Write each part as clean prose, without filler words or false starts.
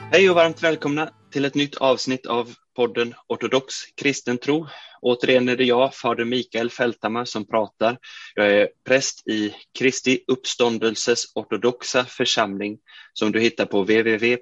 Hej och varmt välkomna till ett nytt avsnitt av podden Ortodox kristen tro. Återigen är det jag, fader Mikael Fälthammar, som pratar. Jag är präst i Kristi uppståndelses ortodoxa församling som du hittar på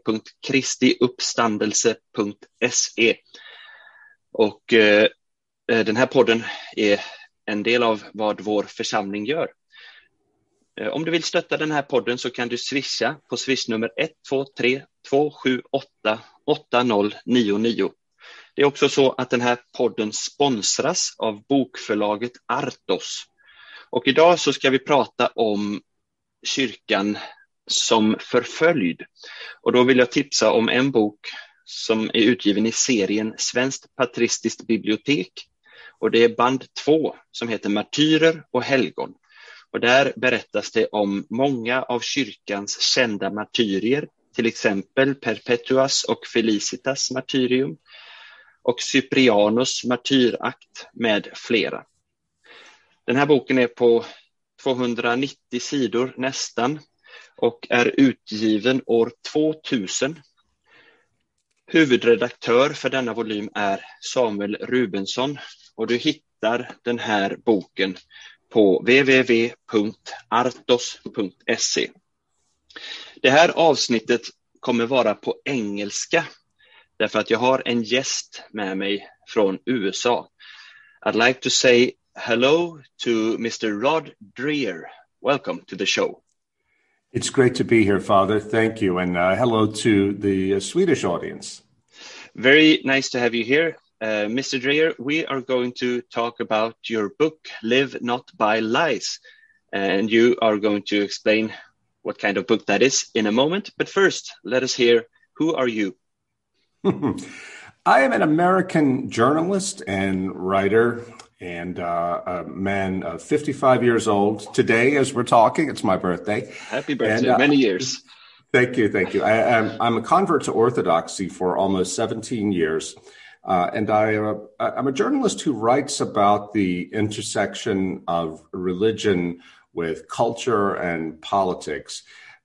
www.kristiuppstandelse.se. Och den här podden är en del av vad vår församling gör. Om du vill stötta den här podden så kan du swisha på swishnummer 123 278 8099. Det är också så att den här podden sponsras av bokförlaget Artos. Och idag så ska vi prata om kyrkan som förföljd. Och då vill jag tipsa om en bok som är utgiven i serien Svenskt patristiskt bibliotek. Och det är band 2 som heter Martyrer och helgon. Och där berättas det om många av kyrkans kända martyrier, till exempel Perpetuas och Felicitas martyrium och Cyprianus martyrakt med flera. Den här boken är på 290 sidor nästan och är utgiven år 2000. Huvudredaktör för denna volym är Samuel Rubensson och du hittar den här boken på www.artos.se. Det här avsnittet kommer vara på engelska därför att jag har en gäst med mig från USA. I'd like to say hello to Mr. Rod Dreher. Welcome to the show. It's great to be here, Father. Thank you. And hello to the Swedish audience. Very nice to have you here. Mr. Dreher, we are going to talk about your book, Live Not by Lies. And you are going to explain what kind of book that is in a moment. But first, let us hear, who are you? I am an American journalist and writer and a man of 55 years old. Today, as we're talking, it's my birthday. Happy birthday, many years. Thank you. I'm a convert to Orthodoxy for almost 17 years. And I'm a journalist who writes about the intersection of religion with culture and politics.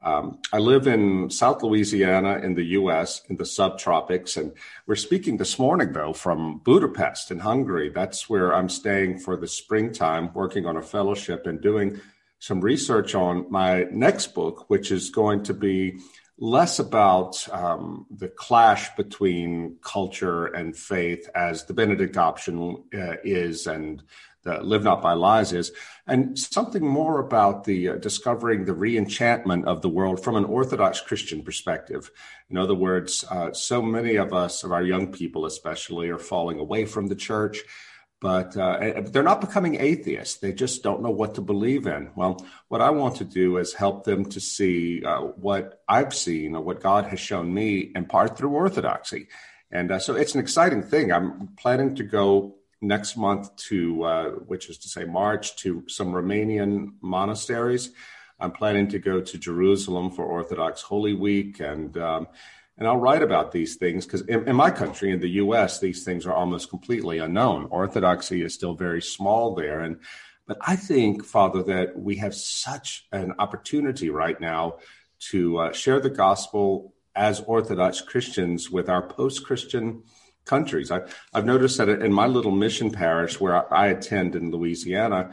I live in South Louisiana in the U.S., in the subtropics, and we're speaking this morning, though, from Budapest in Hungary. That's where I'm staying for the springtime, working on a fellowship and doing some research on my next book, which is going to be less about the clash between culture and faith, as the Benedict option is and the Live Not by Lies is, and something more about the discovering the re-enchantment of the world from an Orthodox Christian perspective. In other words, so many of us, of our young people especially, are falling away from the church, but they're not becoming atheists. They just don't know what to believe in. Well, what I want to do is help them to see what I've seen or what God has shown me, in part through Orthodoxy. And so it's an exciting thing. I'm planning to go next month to, which is to say March, to some Romanian monasteries. I'm planning to go to Jerusalem for Orthodox Holy Week, and I'll write about these things because in my country, in the U.S., these things are almost completely unknown. Orthodoxy is still very small there. But I think, Father, that we have such an opportunity right now to share the gospel as Orthodox Christians with our post-Christian countries. I've noticed that in my little mission parish where I attend in Louisiana,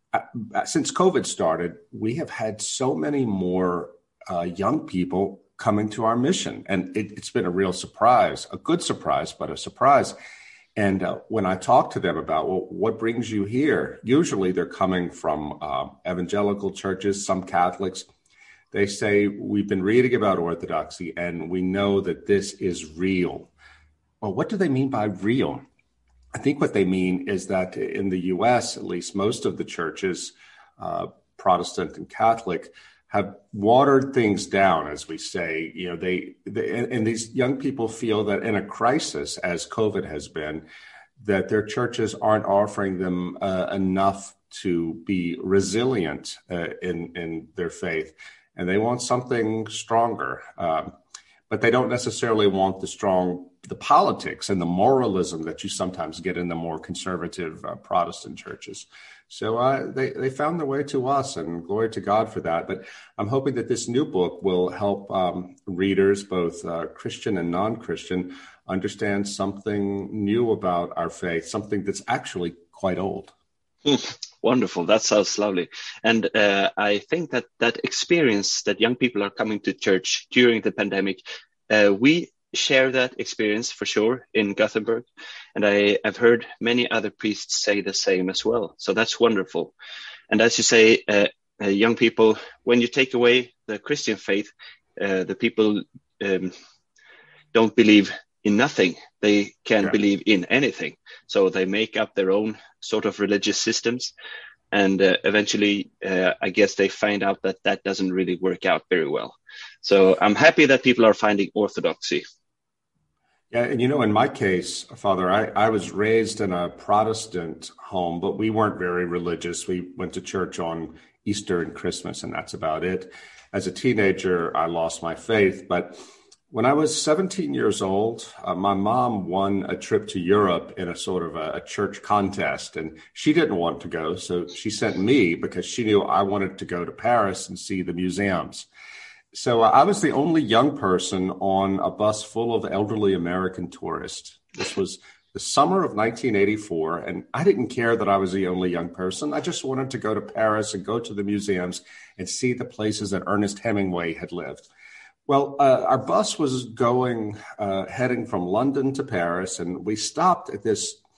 since COVID started, we have had so many more young people coming to our mission. And it's been a real surprise, a good surprise, but a surprise. And when I talk to them about, well, what brings you here? Usually they're coming from evangelical churches, some Catholics. They say, we've been reading about Orthodoxy and we know that this is real. Well, what do they mean by real? I think what they mean is that in the U.S., at least most of the churches, Protestant and Catholic, have watered things down, as we say. You know, and these young people feel that in a crisis, as COVID has been, that their churches aren't offering them enough to be resilient in their faith, and they want something stronger. but they don't necessarily want the politics and the moralism that you sometimes get in the more conservative Protestant churches. So they found their way to us, and glory to God for that. But I'm hoping that this new book will help readers, both Christian and non-Christian, understand something new about our faith, something that's actually quite old. Wonderful. That sounds lovely. And I think that experience that young people are coming to church during the pandemic, we share that experience for sure in Gothenburg. And I have heard many other priests say the same as well. So that's wonderful. And as you say, young people, when you take away the Christian faith, the people don't believe in nothing. They can believe in anything. So they make up their own sort of religious systems. And eventually, I guess they find out that doesn't really work out very well. So I'm happy that people are finding orthodoxy. Yeah, and in my case, Father, I was raised in a Protestant home, but we weren't very religious. We went to church on Easter and Christmas, and that's about it. As a teenager, I lost my faith. But when I was 17 years old, my mom won a trip to Europe in a sort of a church contest, and she didn't want to go. So she sent me because she knew I wanted to go to Paris and see the museums. So I was the only young person on a bus full of elderly American tourists. This was the summer of 1984, and I didn't care that I was the only young person. I just wanted to go to Paris and go to the museums and see the places that Ernest Hemingway had lived. Well, our bus was heading from London to Paris, and we stopped at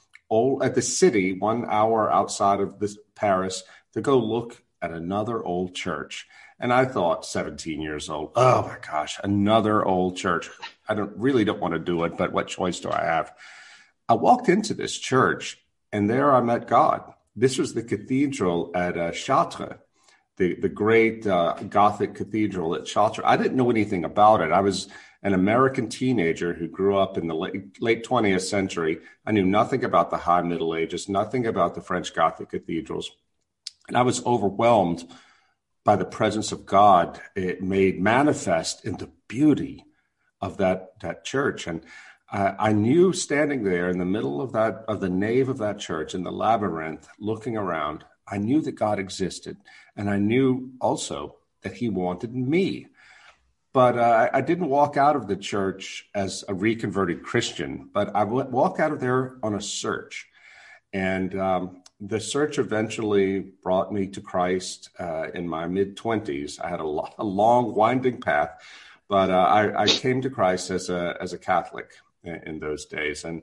the city 1 hour outside of Paris to go look at another old church. And I thought, 17 years old, oh my gosh, another old church. I really don't want to do it, but what choice do I have? I walked into this church, and there I met God. This was the cathedral at Chartres, the great Gothic cathedral at Chartres. I didn't know anything about it. I was an American teenager who grew up in the late 20th century. I knew nothing about the High Middle Ages, nothing about the French Gothic cathedrals. And I was overwhelmed by the presence of God. It made manifest in the beauty of that church. And I knew, standing there in the middle of the nave of that church, in the labyrinth, looking around, I knew that God existed. And I knew also that he wanted me. But I didn't walk out of the church as a reconverted Christian, but I walked out of there on a search. And the search eventually brought me to Christ in my mid-20s. I had a long, winding path, but I came to Christ as a Catholic in those days. And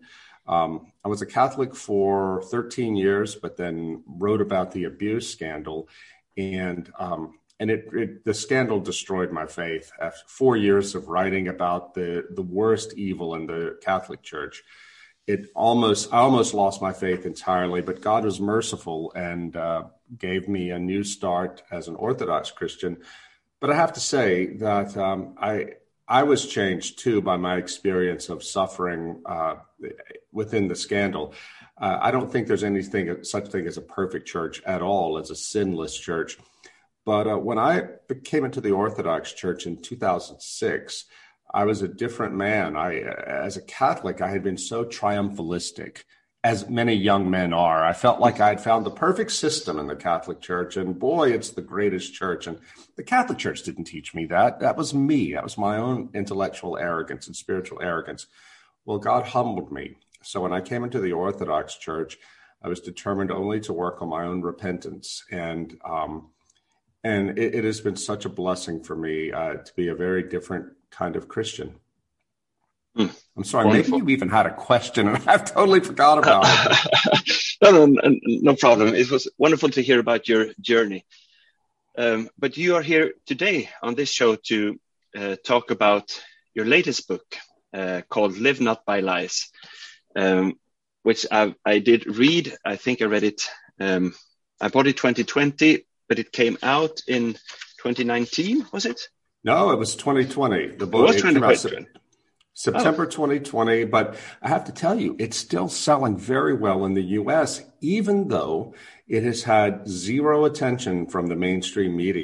I was a Catholic for 13 years, but then wrote about the abuse scandal. And the scandal destroyed my faith. After 4 years of writing about the worst evil in the Catholic Church, I almost lost my faith entirely, but God was merciful and gave me a new start as an Orthodox Christian. But I have to say that I was changed too by my experience of suffering within the scandal. I don't think there's such thing as a perfect church at all, as a sinless church. But when I came into the Orthodox Church in 2006, I was a different man. As a Catholic, I had been so triumphalistic, as many young men are. I felt like I had found the perfect system in the Catholic Church, and boy, it's the greatest church. And the Catholic Church didn't teach me that. That was me. That was my own intellectual arrogance and spiritual arrogance. Well, God humbled me. So when I came into the Orthodox Church, I was determined only to work on my own repentance. And it has been such a blessing for me to be a very different kind of Christian. I'm sorry, wonderful. Maybe you even had a question and I've totally forgot about it. No problem. It was wonderful to hear about your journey. But you are here today on this show to talk about your latest book called Live Not by Lies, which I did read. I think I read it. I bought it 2020, but it came out in 2019, was it? No, it was 2020. The book was 2020. September 2020, but I have to tell you, it's still selling very well in the U.S., even though it has had zero attention from the mainstream media.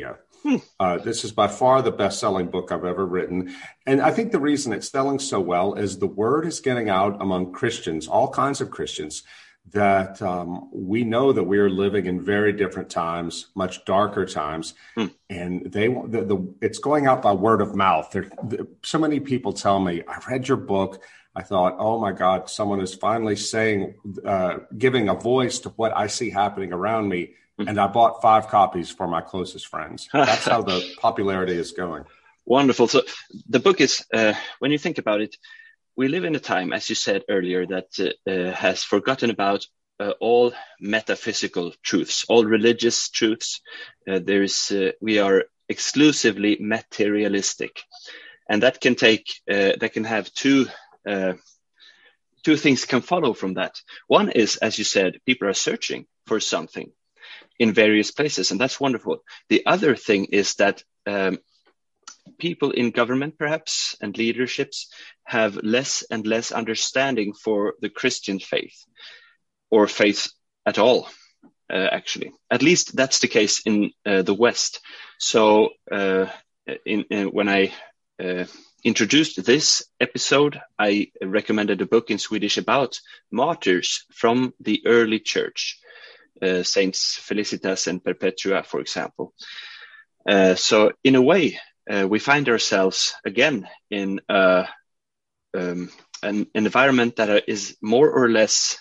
This is by far the best-selling book I've ever written. And I think the reason it's selling so well is the word is getting out among Christians, all kinds of Christians, that we know that we are living in very different times, much darker times, and it's going out by word of mouth. So many people tell me, I read your book. I thought, oh my God, someone is finally saying, giving a voice to what I see happening around me. And I bought 5 copies for my closest friends. That's how the popularity is going. Wonderful. So the book is, when you think about it, we live in a time, as you said earlier, that has forgotten about all metaphysical truths, all religious truths. We are exclusively materialistic, and that can have two things can follow from that. One is, as you said, people are searching for something in various places, and that's wonderful. The other thing is that people in government, perhaps, and leaderships have less and less understanding for the Christian faith, or faith at all, actually. At least that's the case in the West. So when I introduced this episode, I recommended a book in Swedish about martyrs from the early church, Saints Felicitas and Perpetua, for example. So in a way, we find ourselves again in an environment that is more or less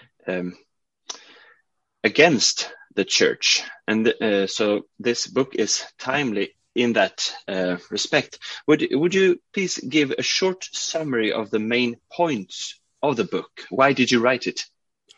against the church. And so this book is timely in that respect. Would you please give a short summary of the main points of the book? Why did you write it?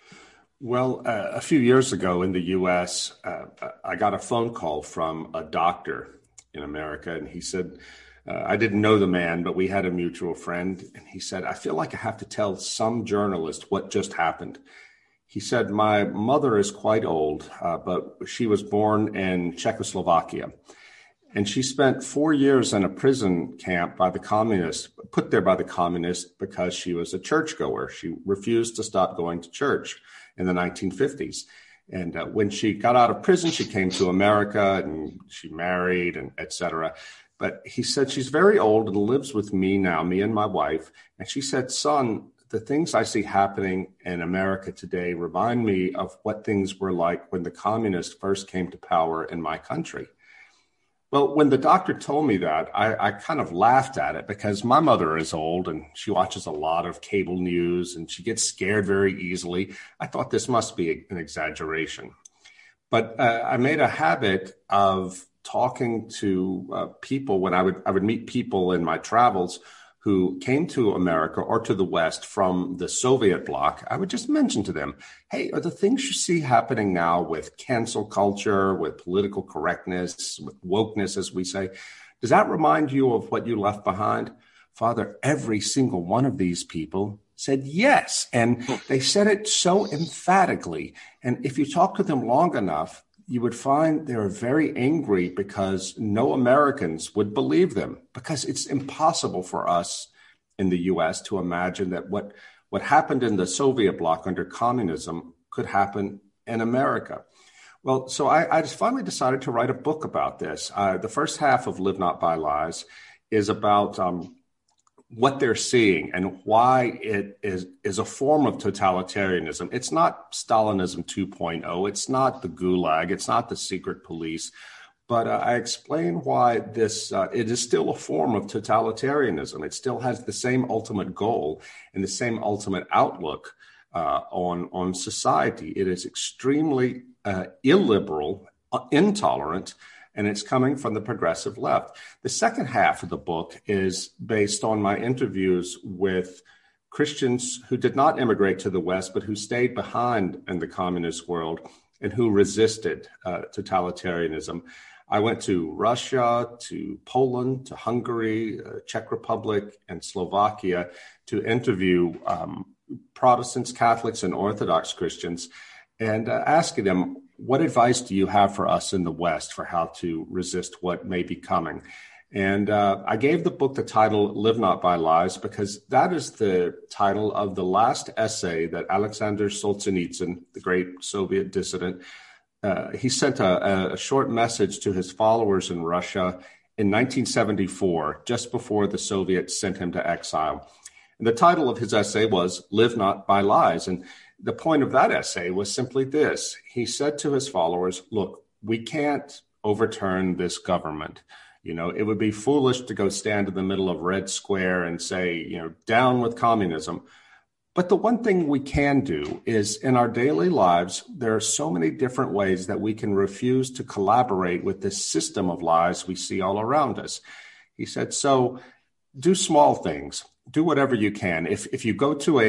Well, a few years ago in the U.S., I got a phone call from a doctor in America, and he said, I didn't know the man, but we had a mutual friend, and he said, I feel like I have to tell some journalist what just happened. He said, my mother is quite old, but she was born in Czechoslovakia, and she spent 4 years in a prison camp by the communists, put there by the communists because she was a churchgoer. She refused to stop going to church in the 1950s. And when she got out of prison, she came to America and she married and et cetera. But he said, she's very old and lives with me now, me and my wife. And she said, son, the things I see happening in America today remind me of what things were like when the communists first came to power in my country. Well, when the doctor told me that, I kind of laughed at it because my mother is old and she watches a lot of cable news and she gets scared very easily. I thought this must be an exaggeration. But I made a habit of talking to people when I would meet people in my travels who came to America or to the West from the Soviet bloc. I would just mention to them, hey, are the things you see happening now with cancel culture, with political correctness, with wokeness, as we say, does that remind you of what you left behind? Father, every single one of these people said yes. And they said it so emphatically. And if you talk to them long enough, you would find they're very angry because no Americans would believe them, because it's impossible for us in the U.S. to imagine that what happened in the Soviet bloc under communism could happen in America. Well, so I just finally decided to write a book about this. The first half of Live Not by Lies is about what they're seeing and why it is a form of totalitarianism. It's not Stalinism 2.0. It's not the Gulag. It's not the secret police. But I explain why it is still a form of totalitarianism. It still has the same ultimate goal and the same ultimate outlook on society. It is extremely illiberal, intolerant, and it's coming from the progressive left. The second half of the book is based on my interviews with Christians who did not immigrate to the West, but who stayed behind in the communist world and who resisted totalitarianism. I went to Russia, to Poland, to Hungary, Czech Republic, and Slovakia to interview Protestants, Catholics, and Orthodox Christians and asking them, what advice do you have for us in the West for how to resist what may be coming? And I gave the book the title Live Not by Lies because that is the title of the last essay that Alexander Solzhenitsyn, the great Soviet dissident, he sent a short message to his followers in Russia in 1974, just before the Soviets sent him to exile. And the title of his essay was "Live Not by Lies." And the point of that essay was simply this. He said to his followers, look, we can't overturn this government. It would be foolish to go stand in the middle of Red Square and say, down with communism. But the one thing we can do is in our daily lives, there are so many different ways that we can refuse to collaborate with this system of lies we see all around us. He said, so do small things, do whatever you can. If you go to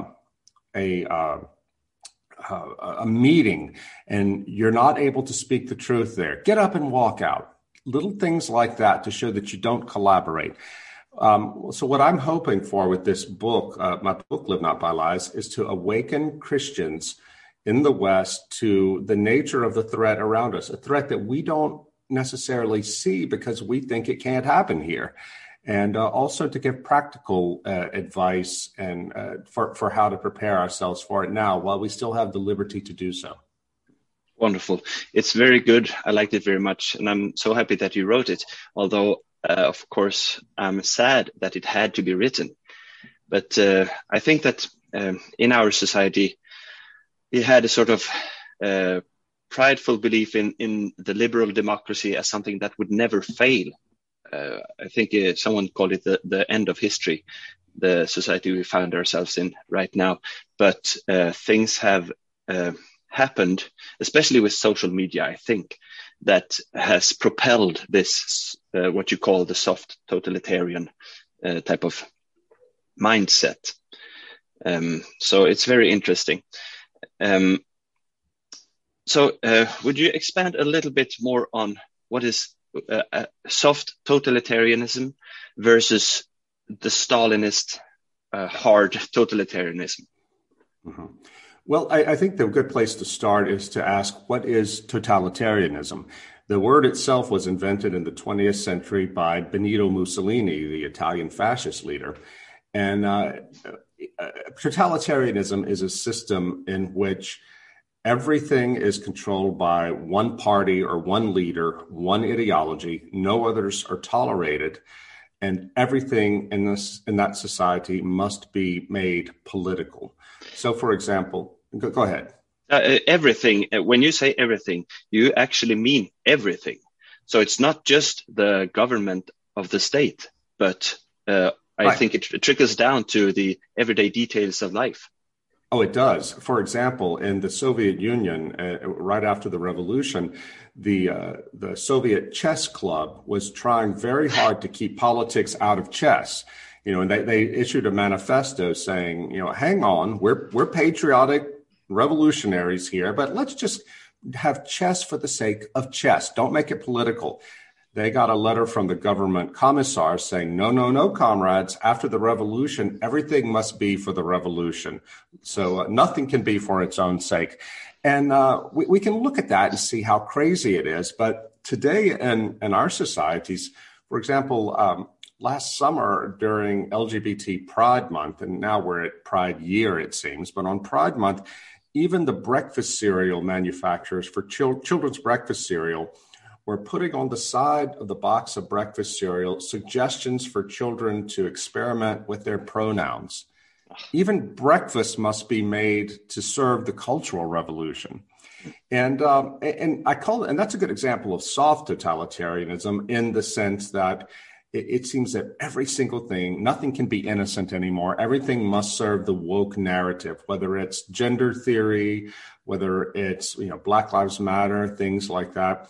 a meeting and you're not able to speak the truth there, get up and walk out. Little things like that to show that you don't collaborate. So what I'm hoping for with this book, my book, Live Not by Lies, is to awaken Christians in the West to the nature of the threat around us, a threat that we don't necessarily see because we think it can't happen here. And also to give practical advice and for how to prepare ourselves for it now while we still have the liberty to do so. Wonderful. It's very good. I liked it very much. And I'm so happy that you wrote it, although, of course, I'm sad that it had to be written. But I think that in our society, we had a sort of prideful belief in the liberal democracy as something that would never fail. I think someone called it the end of history, the society we found ourselves in right now. But things have happened, especially with social media, I think, that has propelled this, what you call the soft totalitarian type of mindset. So it's very interesting. So would you expand a little bit more on what is soft totalitarianism versus the Stalinist hard totalitarianism? Mm-hmm. Well, I think the good place to start is to ask, what is totalitarianism? The word itself was invented in the 20th century by Benito Mussolini, the Italian fascist leader. And totalitarianism is a system in which everything is controlled by one party or one leader, one ideology. No others are tolerated. And everything in that society must be made political. So, for example, go ahead. Everything. When you say everything, you actually mean everything. So it's not just the government of the state, but I think it trickles down to the everyday details of life. Oh, it does. For example, in the Soviet Union, right after the revolution, the Soviet chess club was trying very hard to keep politics out of chess. And they issued a manifesto saying, hang on, we're patriotic revolutionaries here, but let's just have chess for the sake of chess. Don't make it political. They got a letter from the government commissar saying, no, comrades, after the revolution, everything must be for the revolution. So nothing can be for its own sake. And we can look at that and see how crazy it is. But today in our societies, for example, last summer during LGBT Pride Month, and now we're at Pride Year, it seems, but on Pride Month, even the breakfast cereal manufacturers for children's breakfast cereal were putting on the side of the box of breakfast cereal suggestions for children to experiment with their pronouns. Even breakfast must be made to serve the Cultural Revolution. And I call it, and that's a good example of soft totalitarianism in the sense that it seems that every single thing, nothing can be innocent anymore. Everything must serve the woke narrative, whether it's gender theory, whether it's, Black Lives Matter, things like that.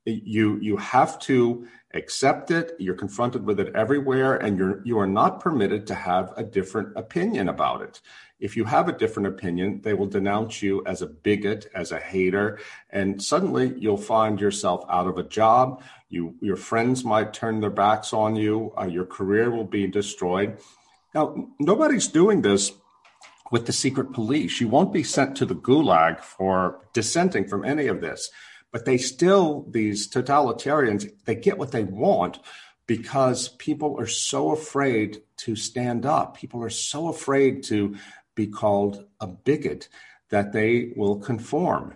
You have to accept it. You're confronted with it everywhere, and you are not permitted to have a different opinion about it. If you have a different opinion, they will denounce you as a bigot, as a hater, and suddenly you'll find yourself out of a job. Your friends might turn their backs on you. Your career will be destroyed. Now, nobody's doing this with the secret police. You won't be sent to the gulag for dissenting from any of this. But these totalitarians, they get what they want because people are so afraid to stand up. People are so afraid to be called a bigot that they will conform.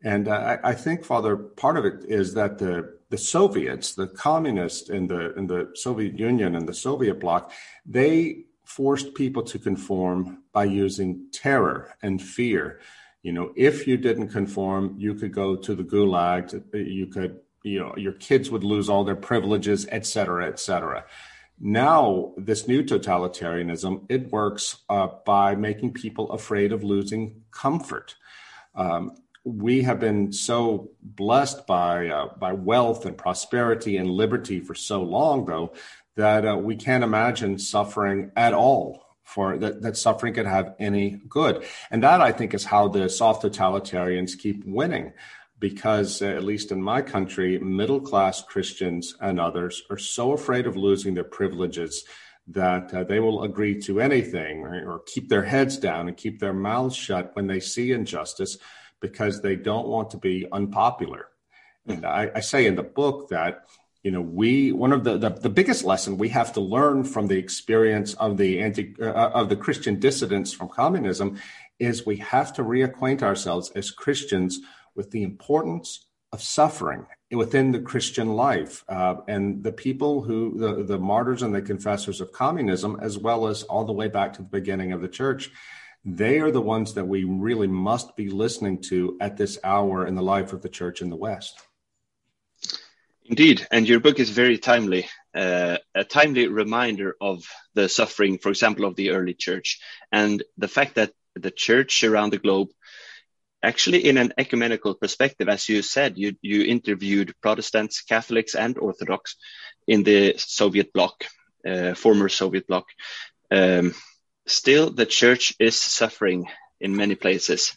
And I think, Father, part of it is that the Soviets, the communists in the Soviet Union and the Soviet bloc, they forced people to conform by using terror and fear. If you didn't conform, you could go to the gulag. Your kids would lose all their privileges, et cetera, et cetera. Now, this new totalitarianism, it works by making people afraid of losing comfort. We have been so blessed by wealth and prosperity and liberty for so long, though, that we can't imagine suffering at all, for that suffering could have any good. And that, I think, is how the soft totalitarians keep winning, because at least in my country, middle-class Christians and others are so afraid of losing their privileges that they will agree to anything, or keep their heads down and keep their mouths shut when they see injustice, because they don't want to be unpopular. And I say in the book that, one of the biggest lesson we have to learn from the experience of the Christian dissidents from communism is we have to reacquaint ourselves as Christians with the importance of suffering within the Christian life. And the people the martyrs and the confessors of communism, as well as all the way back to the beginning of the church, they are the ones that we really must be listening to at this hour in the life of the church in the West. Indeed, and your book is very timely, a timely reminder of the suffering, for example, of the early church, and the fact that the church around the globe, actually in an ecumenical perspective, as you said, you interviewed Protestants, Catholics, and Orthodox in the Soviet bloc, former Soviet bloc. Still, the church is suffering in many places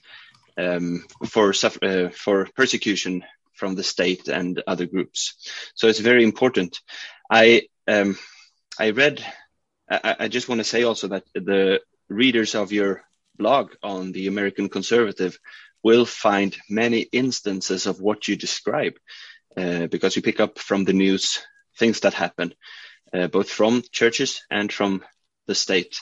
for persecution from the state and other groups. So it's very important. I just want to say also that the readers of your blog on the American Conservative will find many instances of what you describe, because you pick up from the news things that happen, both from churches and from the state.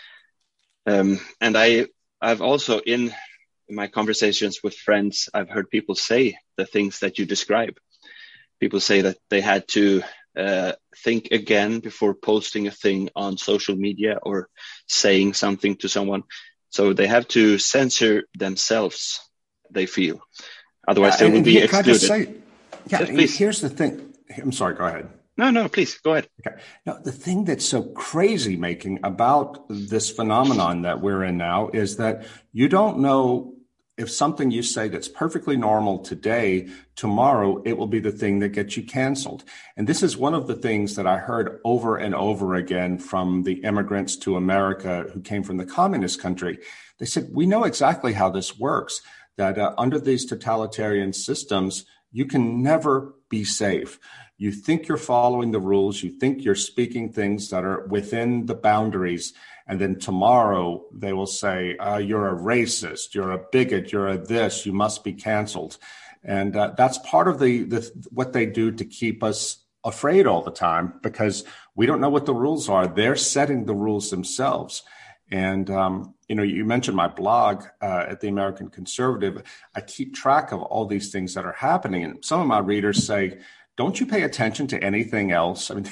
And I've also, in my conversations with friends, I've heard people say the things that you describe. People say that they had to think again before posting a thing on social media or saying something to someone. So they have to censor themselves, they feel. Otherwise, they will be excluded. Here's the thing. I'm sorry, go ahead. No, please, go ahead. Okay. Now, the thing that's so crazy making about this phenomenon that we're in now is that you don't know if something you say that's perfectly normal today, tomorrow, it will be the thing that gets you canceled. And this is one of the things that I heard over and over again from the immigrants to America who came from the communist country. They said, we know exactly how this works, that under these totalitarian systems, you can never be safe. You think you're following the rules. You think you're speaking things that are within the boundaries. And then tomorrow they will say, you're a racist, you're a bigot, you're a this, you must be canceled. And that's part of what they do to keep us afraid all the time, because we don't know what the rules are. They're setting the rules themselves. And, you mentioned my blog at the American Conservative. I keep track of all these things that are happening. And some of my readers say, don't you pay attention to anything else? I mean,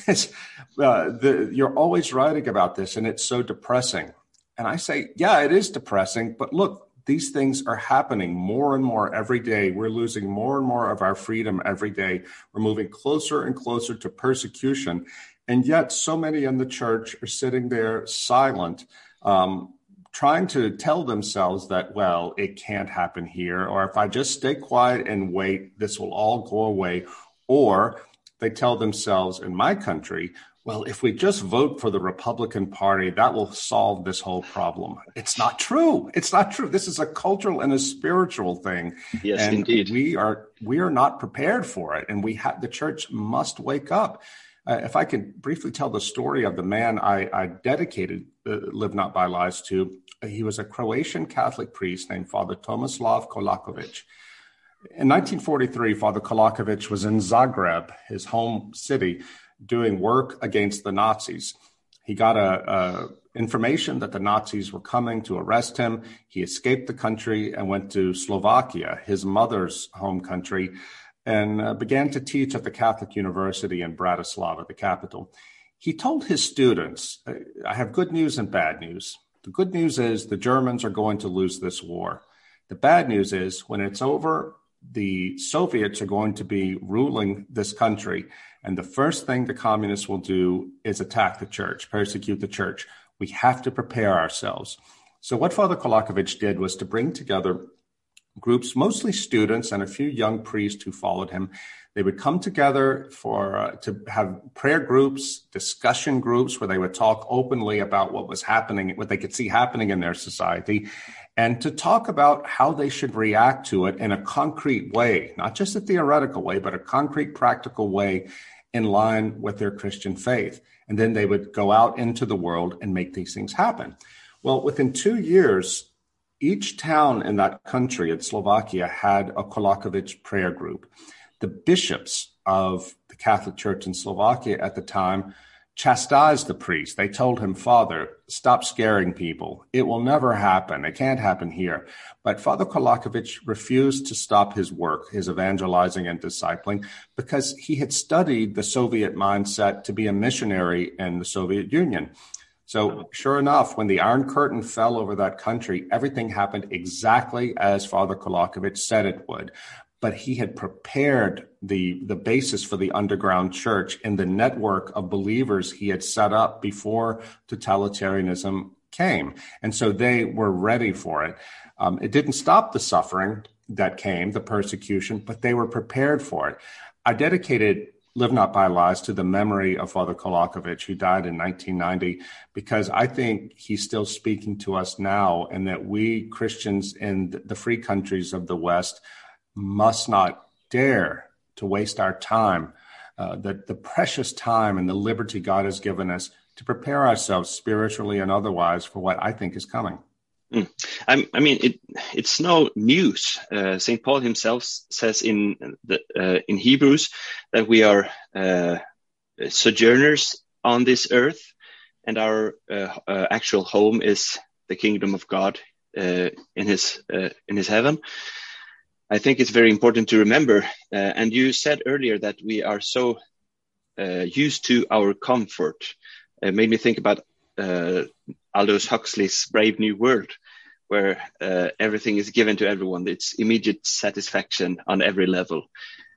you're always writing about this, and it's so depressing. And I say, yeah, it is depressing. But look, these things are happening more and more every day. We're losing more and more of our freedom every day. We're moving closer and closer to persecution. And yet so many in the church are sitting there silent, trying to tell themselves that, well, it can't happen here. Or if I just stay quiet and wait, this will all go away. Or they tell themselves in my country, well, if we just vote for the Republican Party, that will solve this whole problem. It's not true. It's not true. This is a cultural and a spiritual thing. Yes, and indeed. We are not prepared for it. And the church must wake up. If I could briefly tell the story of the man I dedicated Live Not by Lies to, he was a Croatian Catholic priest named Father Tomislav Kolakovic. In 1943, Father Kolakovic was in Zagreb, his home city, doing work against the Nazis. He got a information that the Nazis were coming to arrest him. He escaped the country and went to Slovakia, his mother's home country, and began to teach at the Catholic University in Bratislava, the capital. He told his students, I have good news and bad news. The good news is the Germans are going to lose this war. The bad news is when it's over, the Soviets are going to be ruling this country. And the first thing the communists will do is attack the church, persecute the church. We have to prepare ourselves. So what Father Kolakovich did was to bring together groups, mostly students and a few young priests who followed him. They would come together to have prayer groups, discussion groups where they would talk openly about what was happening, what they could see happening in their society, and to talk about how they should react to it in a concrete way, not just a theoretical way, but a concrete, practical way in line with their Christian faith. And then they would go out into the world and make these things happen. Well, within 2 years, each town in that country, in Slovakia, had a Kolakovich prayer group. The bishops of the Catholic Church in Slovakia at the time chastised the priest. They told him, Father, stop scaring people. It will never happen. It can't happen here. But Father Kolakovich refused to stop his work, his evangelizing and discipling, because he had studied the Soviet mindset to be a missionary in the Soviet Union. So sure enough, when the Iron Curtain fell over that country, everything happened exactly as Father Kolakovich said it would. But he had prepared the basis for the underground church in the network of believers he had set up before totalitarianism came. And so they were ready for it. It didn't stop the suffering that came, the persecution, but they were prepared for it. I dedicated Live Not by Lies to the memory of Father Kolakovich, who died in 1990, because I think he's still speaking to us now, and that we Christians in the free countries of the West must not dare to waste our time, the precious time and the liberty God has given us to prepare ourselves spiritually and otherwise for what I think is coming. I mean, it's no news. St. Paul himself says in Hebrews that we are sojourners on this earth, and our actual home is the kingdom of God in His heaven. I think it's very important to remember. And you said earlier that we are so used to our comfort. It made me think about Aldous Huxley's Brave New World, where everything is given to everyone. It's immediate satisfaction on every level.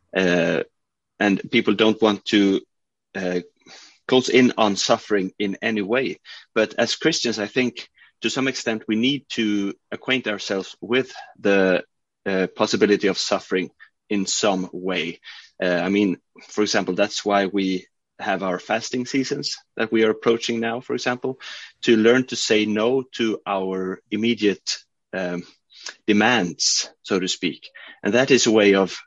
And people don't want to close in on suffering in any way. But as Christians, I think to some extent we need to acquaint ourselves with the possibility of suffering in some way. I mean, for example, that's why we have our fasting seasons that we are approaching now, for example, to learn to say no to our immediate demands, so to speak. And that is a way of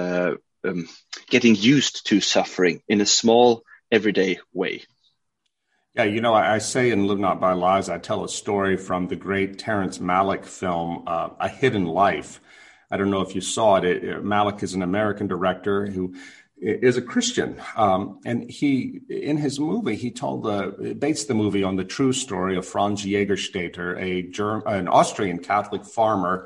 getting used to suffering in a small, everyday way. Yeah, you know, I say in Live Not by Lies, I tell a story from the great Terrence Malick film, A Hidden Life. I don't know if you saw it. Malick is an American director who is a Christian. And he, in his movie, he based the movie on the true story of Franz Jägerstätter, an Austrian Catholic farmer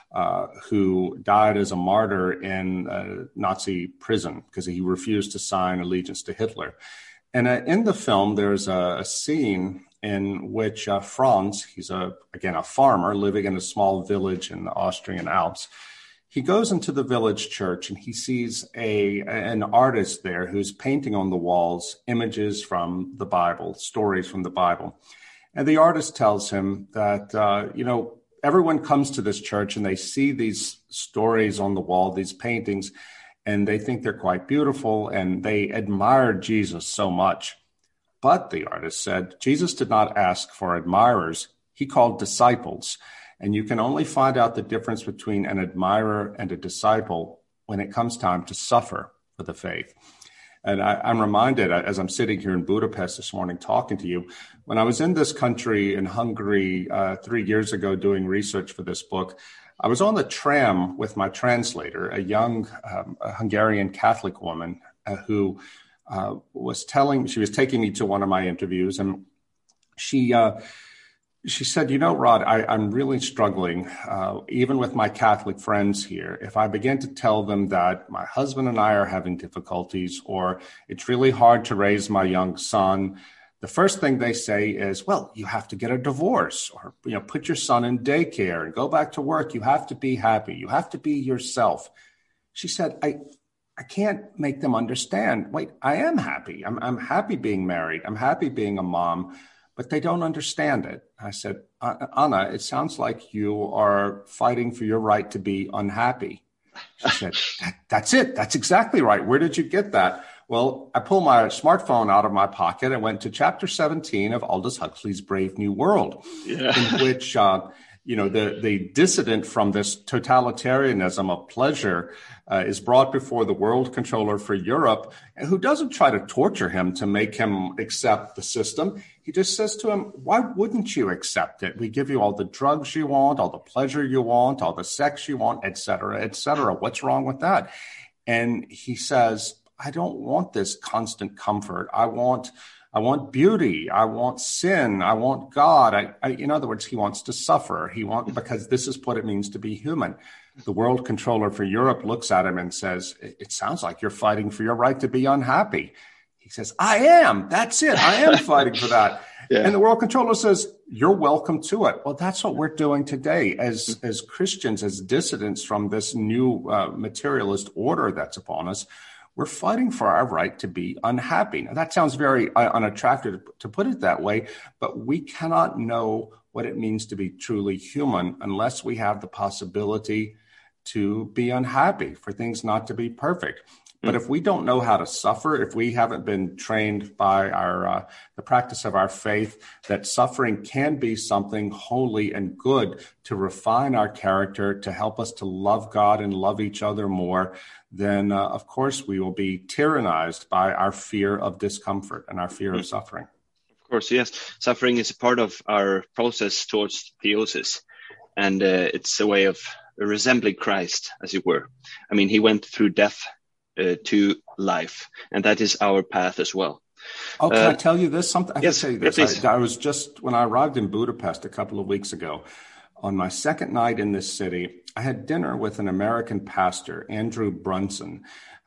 who died as a martyr in Nazi prison because he refused to sign allegiance to Hitler. And in the film, there's a scene in which Franz, he's a farmer living in a small village in the Austrian Alps. He goes into the village church and he sees an artist there who's painting on the walls images from the Bible, stories from the Bible. And the artist tells him that, everyone comes to this church and they see these stories on the wall, these paintings, and they think they're quite beautiful and they admire Jesus so much. But the artist said, Jesus did not ask for admirers. He called disciples. And you can only find out the difference between an admirer and a disciple when it comes time to suffer for the faith. And I'm reminded, as I'm sitting here in Budapest this morning talking to you, when I was in this country, in Hungary, 3 years ago doing research for this book, I was on the tram with my translator, a young Hungarian Catholic woman who she was taking me to one of my interviews. And She said, Rod, I'm really struggling, even with my Catholic friends here. If I begin to tell them that my husband and I are having difficulties, or it's really hard to raise my young son, the first thing they say is, well, you have to get a divorce, or, put your son in daycare and go back to work. You have to be happy. You have to be yourself. She said, I can't make them understand. Wait, I am happy. I'm happy being married. I'm happy being a mom. But they don't understand it. I said, Anna, it sounds like you are fighting for your right to be unhappy. She said, that's it. That's exactly right. Where did you get that? Well, I pulled my smartphone out of my pocket and went to chapter 17 of Aldous Huxley's Brave New World, in which, the dissident from this totalitarianism of pleasure is brought before the world controller for Europe, who doesn't try to torture him to make him accept the system. He just says to him, why wouldn't you accept it? We give you all the drugs you want, all the pleasure you want, all the sex you want, et cetera, et cetera. What's wrong with that? And he says, I don't want this constant comfort. I want beauty. I want sin. I want God. In other words, he wants to suffer. Because this is what it means to be human. The world controller for Europe looks at him and says, it sounds like you're fighting for your right to be unhappy. He says, I am. That's it. I am fighting for that. Yeah. And the world controller says, you're welcome to it. Well, that's what we're doing today as Christians, as dissidents from this new materialist order that's upon us. We're fighting for our right to be unhappy. Now, that sounds very unattractive to put it that way, but we cannot know what it means to be truly human unless we have the possibility to be unhappy, for things not to be perfect. But if we don't know how to suffer, if we haven't been trained by the practice of our faith that suffering can be something holy and good to refine our character, to help us to love God and love each other more, then of course we will be tyrannized by our fear of discomfort and our fear of suffering. Of course, yes. Suffering is a part of our process towards theosis, and it's a way of resembling Christ, as it were. I mean, he went through death to life, and that is our path as well. Oh, can I tell you this? Something I yes, can tell you this. Yeah, I was just, when I arrived in Budapest a couple of weeks ago, on my second night in this city, I had dinner with an American pastor, Andrew Brunson.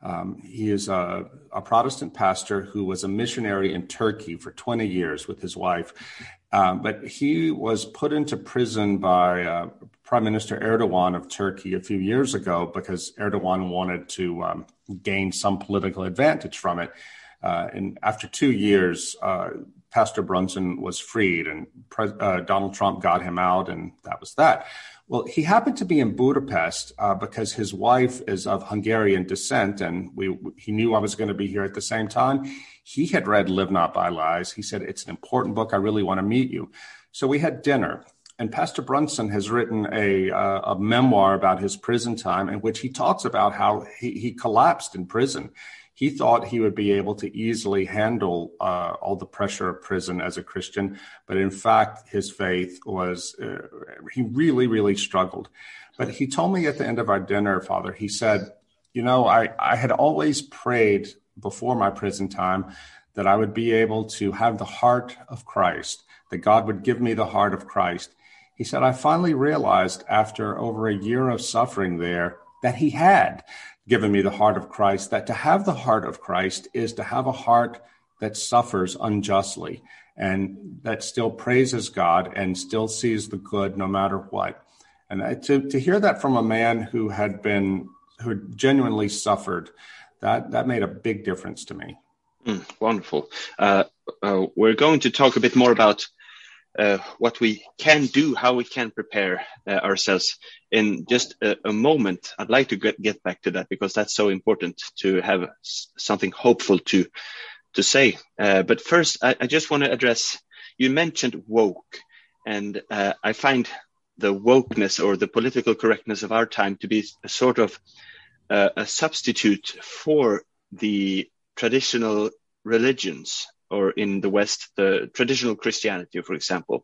He is a Protestant pastor who was a missionary in Turkey for 20 years with his wife. But he was put into prison by Prime Minister Erdogan of Turkey a few years ago because Erdogan wanted to gain some political advantage from it. And after 2 years, Pastor Brunson was freed, and Donald Trump got him out, and that was that. Well, he happened to be in Budapest because his wife is of Hungarian descent, and he knew I was going to be here at the same time. He had read Live Not by Lies. He said, it's an important book. I really want to meet you. So we had dinner, and Pastor Brunson has written a memoir about his prison time in which he talks about how he collapsed in prison. He thought he would be able to easily handle all the pressure of prison as a Christian, but in fact, his faith was, he really, really struggled. But he told me at the end of our dinner, Father, he said, I had always prayed before my prison time that I would be able to have the heart of Christ, that God would give me the heart of Christ. He said, I finally realized after over a year of suffering there that he had given me the heart of Christ, that to have the heart of Christ is to have a heart that suffers unjustly and that still praises God and still sees the good no matter what. And to hear that from a man who genuinely suffered, that made a big difference to me. Wonderful. We're going to talk a bit more about what we can do, how we can prepare ourselves in just a moment. I'd like to get back to that because that's so important to have something hopeful to say. But first, I just want to address, you mentioned woke, and I find the wokeness or the political correctness of our time to be a sort of a substitute for the traditional religions, or in the West, the traditional Christianity, for example.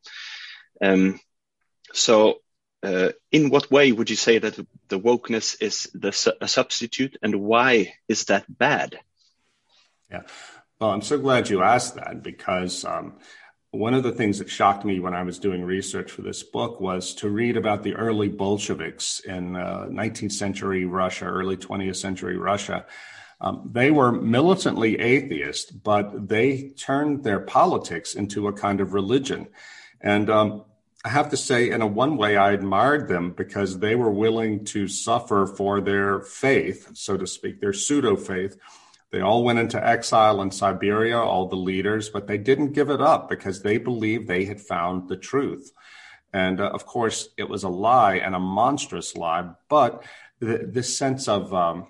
So in what way would you say that the wokeness is a substitute, and why is that bad? Yeah, well, I'm so glad you asked that, because one of the things that shocked me when I was doing research for this book was to read about the early Bolsheviks in 19th century Russia, early 20th century Russia. They were militantly atheist, but they turned their politics into a kind of religion. And I have to say, in one way, I admired them because they were willing to suffer for their faith, so to speak, their pseudo-faith. They all went into exile in Siberia, all the leaders, but they didn't give it up because they believed they had found the truth. And of course, it was a lie, and a monstrous lie, but this sense of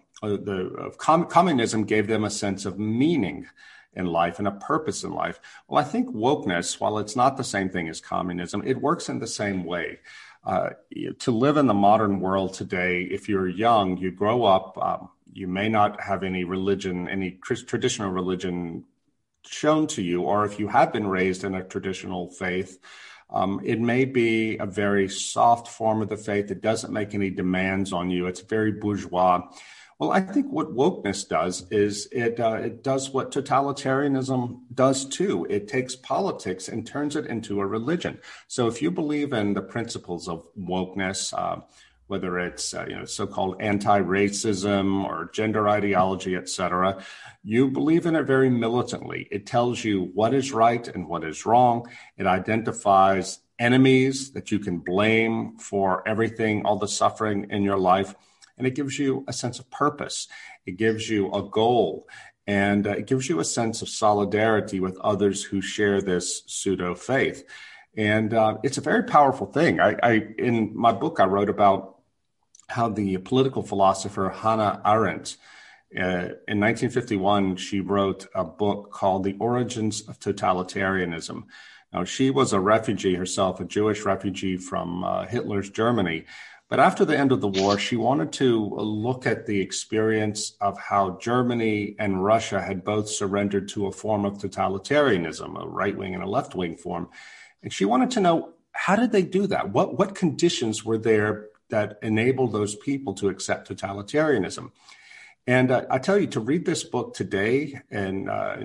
communism gave them a sense of meaning in life and a purpose in life. Well, I think wokeness, while it's not the same thing as communism, it works in the same way. To live in the modern world today, if you're young, you grow up, you may not have any religion, any traditional religion shown to you, or if you have been raised in a traditional faith, it may be a very soft form of the faith. It doesn't make any demands on you. It's very bourgeois. Well, I think what wokeness does is it does what totalitarianism does too. It takes politics and turns it into a religion. So if you believe in the principles of wokeness, whether it's so-called anti-racism or gender ideology, et cetera, you believe in it very militantly. It tells you what is right and what is wrong. It identifies enemies that you can blame for everything, all the suffering in your life. And it gives you a sense of purpose. It gives you a goal, and it gives you a sense of solidarity with others who share this pseudo faith. And it's a very powerful thing. I in my book, I wrote about how the political philosopher Hannah Arendt, in 1951, she wrote a book called The Origins of Totalitarianism. Now, she was a refugee herself, a Jewish refugee from Hitler's Germany. But after the end of the war, she wanted to look at the experience of how Germany and Russia had both surrendered to a form of totalitarianism, a right-wing and a left-wing form. And she wanted to know, how did they do that? What conditions were there that enabled those people to accept totalitarianism? And I tell you, to read this book today in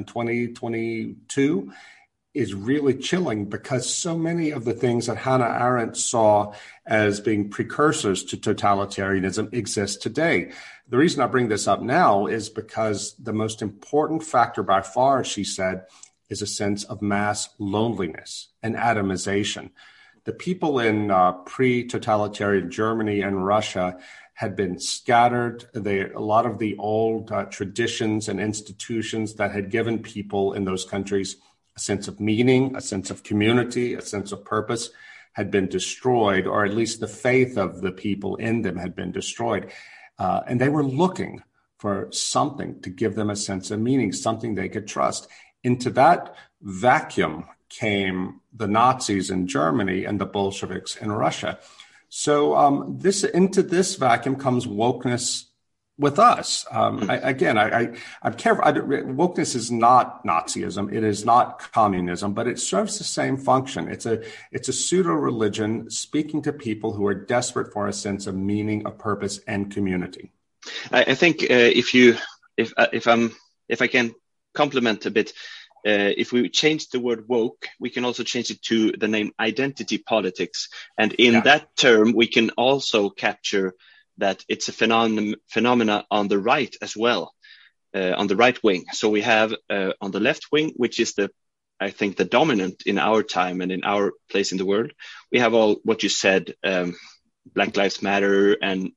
2022 is really chilling, because so many of the things that Hannah Arendt saw as being precursors to totalitarianism exist today. The reason I bring this up now is because the most important factor by far, she said, is a sense of mass loneliness and atomization. The people in pre-totalitarian Germany and Russia had been scattered. A lot of the old traditions and institutions that had given people in those countries a sense of meaning, a sense of community, a sense of purpose had been destroyed, or at least the faith of the people in them had been destroyed. And they were looking for something to give them a sense of meaning, something they could trust. Into that vacuum came the Nazis in Germany and the Bolsheviks in Russia. So into this vacuum comes wokeness with us. I'm careful. Wokeness is not Nazism. It is not communism, but it serves the same function. It's a pseudo religion speaking to people who are desperate for a sense of meaning, a purpose, and community. I think if I can compliment a bit, if we change the word woke, we can also change it to the name identity politics, and in that term, we can also capture that it's a phenomena on the right as well, on the right wing. So we have on the left wing, which is I think the dominant in our time and in our place in the world. We have all what you said, Black Lives Matter and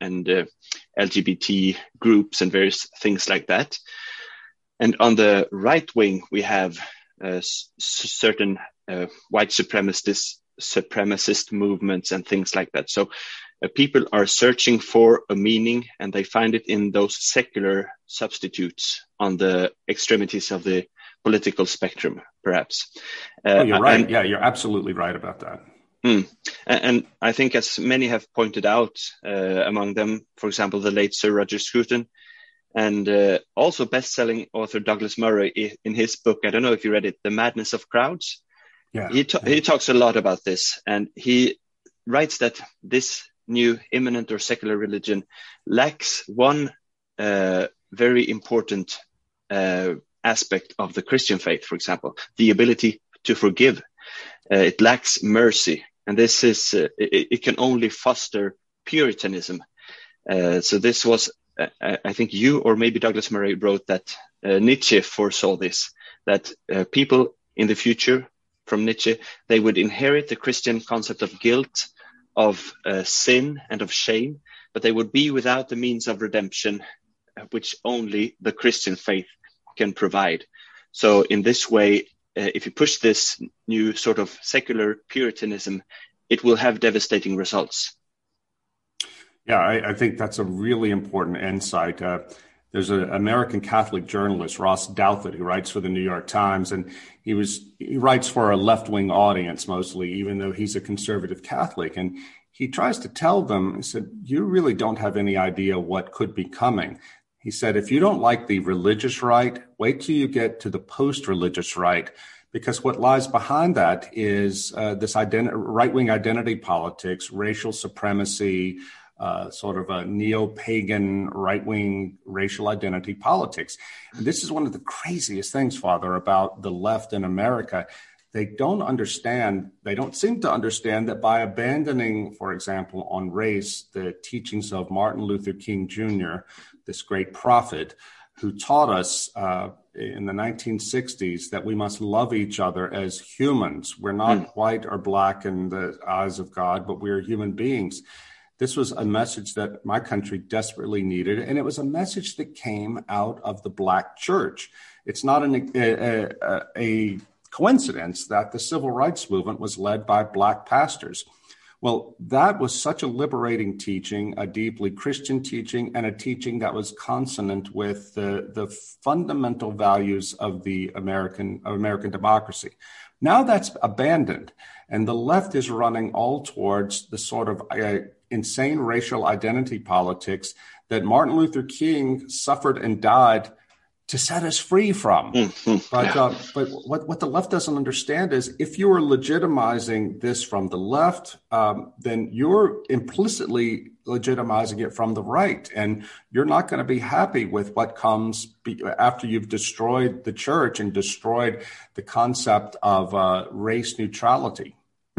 LGBT groups and various things like that. And on the right wing, we have certain white supremacist movements and things like that. So people are searching for a meaning, and they find it in those secular substitutes on the extremities of the political spectrum, perhaps. You're right. You're absolutely right about that. And I think, as many have pointed out, among them, for example, the late Sir Roger Scruton, and also best-selling author Douglas Murray, in his book, I don't know if you read it, The Madness of Crowds. He talks a lot about this, and he writes that this new immanent or secular religion lacks one very important aspect of the Christian faith, for example, the ability to forgive. It lacks mercy, and this is it can only foster Puritanism. So this was, I think you or maybe Douglas Murray wrote that Nietzsche foresaw this, that people in the future from Nietzsche, they would inherit the Christian concept of guilt, of sin and of shame, but they would be without the means of redemption, which only the Christian faith can provide. So in this way, if you push this new sort of secular Puritanism, it will have devastating results. Yeah, I think that's a really important insight. There's an American Catholic journalist, Ross Douthat, who writes for the New York Times, and he writes for a left-wing audience mostly, even though he's a conservative Catholic. And he tries to tell them, he said, you really don't have any idea what could be coming. He said, if you don't like the religious right, wait till you get to the post-religious right, because what lies behind that is this right-wing identity politics, racial supremacy, sort of a neo-pagan right-wing racial identity politics. And this is one of the craziest things, Father, about the left in America. They don't seem to understand that by abandoning, for example, on race, the teachings of Martin Luther King Jr., this great prophet who taught us in the 1960s that we must love each other as humans. We're not white or black in the eyes of God, but we're human beings. This was a message that my country desperately needed, and it was a message that came out of the Black church. It's not a coincidence that the civil rights movement was led by Black pastors. Well, that was such a liberating teaching, a deeply Christian teaching, and a teaching that was consonant with the fundamental values of the American democracy. Now that's abandoned, and the left is running all towards the sort of insane racial identity politics that Martin Luther King suffered and died to set us free from. But what the left doesn't understand is if you are legitimizing this from the left, then you're implicitly legitimizing it from the right. And you're not going to be happy with what comes after you've destroyed the church and destroyed the concept of race neutrality.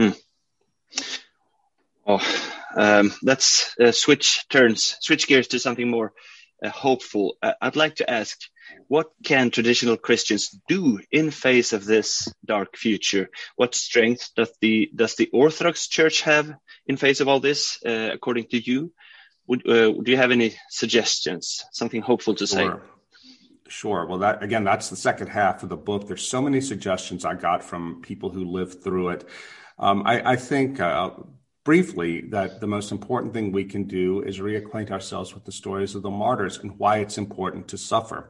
Let's switch gears to something more hopeful. I'd like to ask, what can traditional Christians do in face of this dark future? What strength does the Orthodox Church have in face of all this, according to you? Do you have any suggestions, something hopeful to say? Sure. Well, that's the second half of the book. There's so many suggestions I got from people who lived through it. I think briefly that the most important thing we can do is reacquaint ourselves with the stories of the martyrs and why it's important to suffer.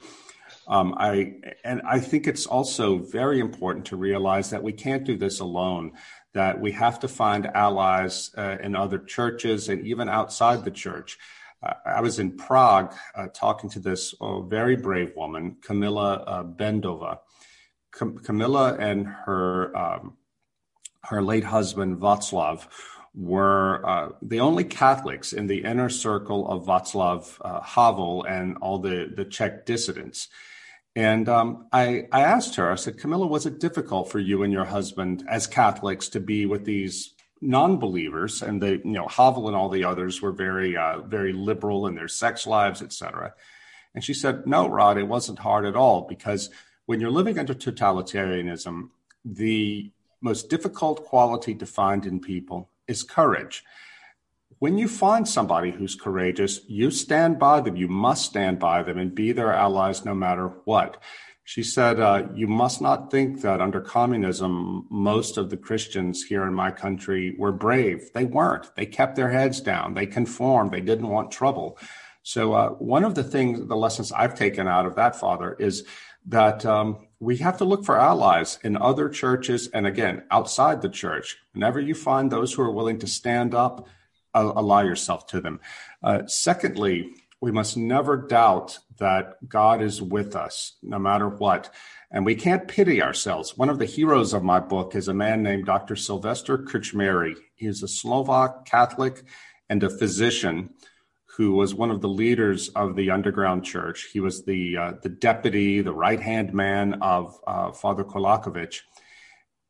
I think it's also very important to realize that we can't do this alone, that we have to find allies in other churches and even outside the church. I was in Prague talking to this very brave woman, Kamila Bendova. Kamila and her late husband, Václav, were the only Catholics in the inner circle of Václav Havel and all the Czech dissidents. And I asked her, I said, Kamila, was it difficult for you and your husband as Catholics to be with these non-believers? And Havel and all the others were very, very liberal in their sex lives, etc. And she said, no, Rod, it wasn't hard at all, because when you're living under totalitarianism, the most difficult quality to find in people is courage. When you find somebody who's courageous, you stand by them. You must stand by them and be their allies no matter what. She said, you must not think that under communism, most of the Christians here in my country were brave. They weren't. They kept their heads down. They conformed. They didn't want trouble. So one of the lessons I've taken out of that, Father, is that we have to look for allies in other churches and, again, outside the church. Whenever you find those who are willing to stand up, allow yourself to them. Secondly, we must never doubt that God is with us no matter what. And we can't pity ourselves. One of the heroes of my book is a man named Dr. Sylvester Krčméry. He is a Slovak Catholic and a physician who was one of the leaders of the underground church. He was the deputy, the right-hand man of Father Kolakovic.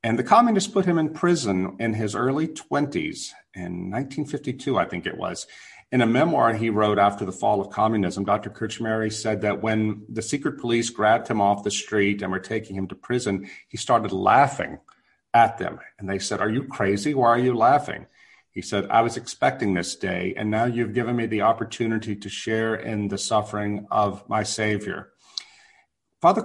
And the communists put him in prison in his early 20s, in 1952, I think it was. In a memoir he wrote after the fall of communism, Dr. Krčmáry said that when the secret police grabbed him off the street and were taking him to prison, he started laughing at them. And they said, "Are you crazy? Why are you laughing?" He said, "I was expecting this day, and now you've given me the opportunity to share in the suffering of my Savior." Dr.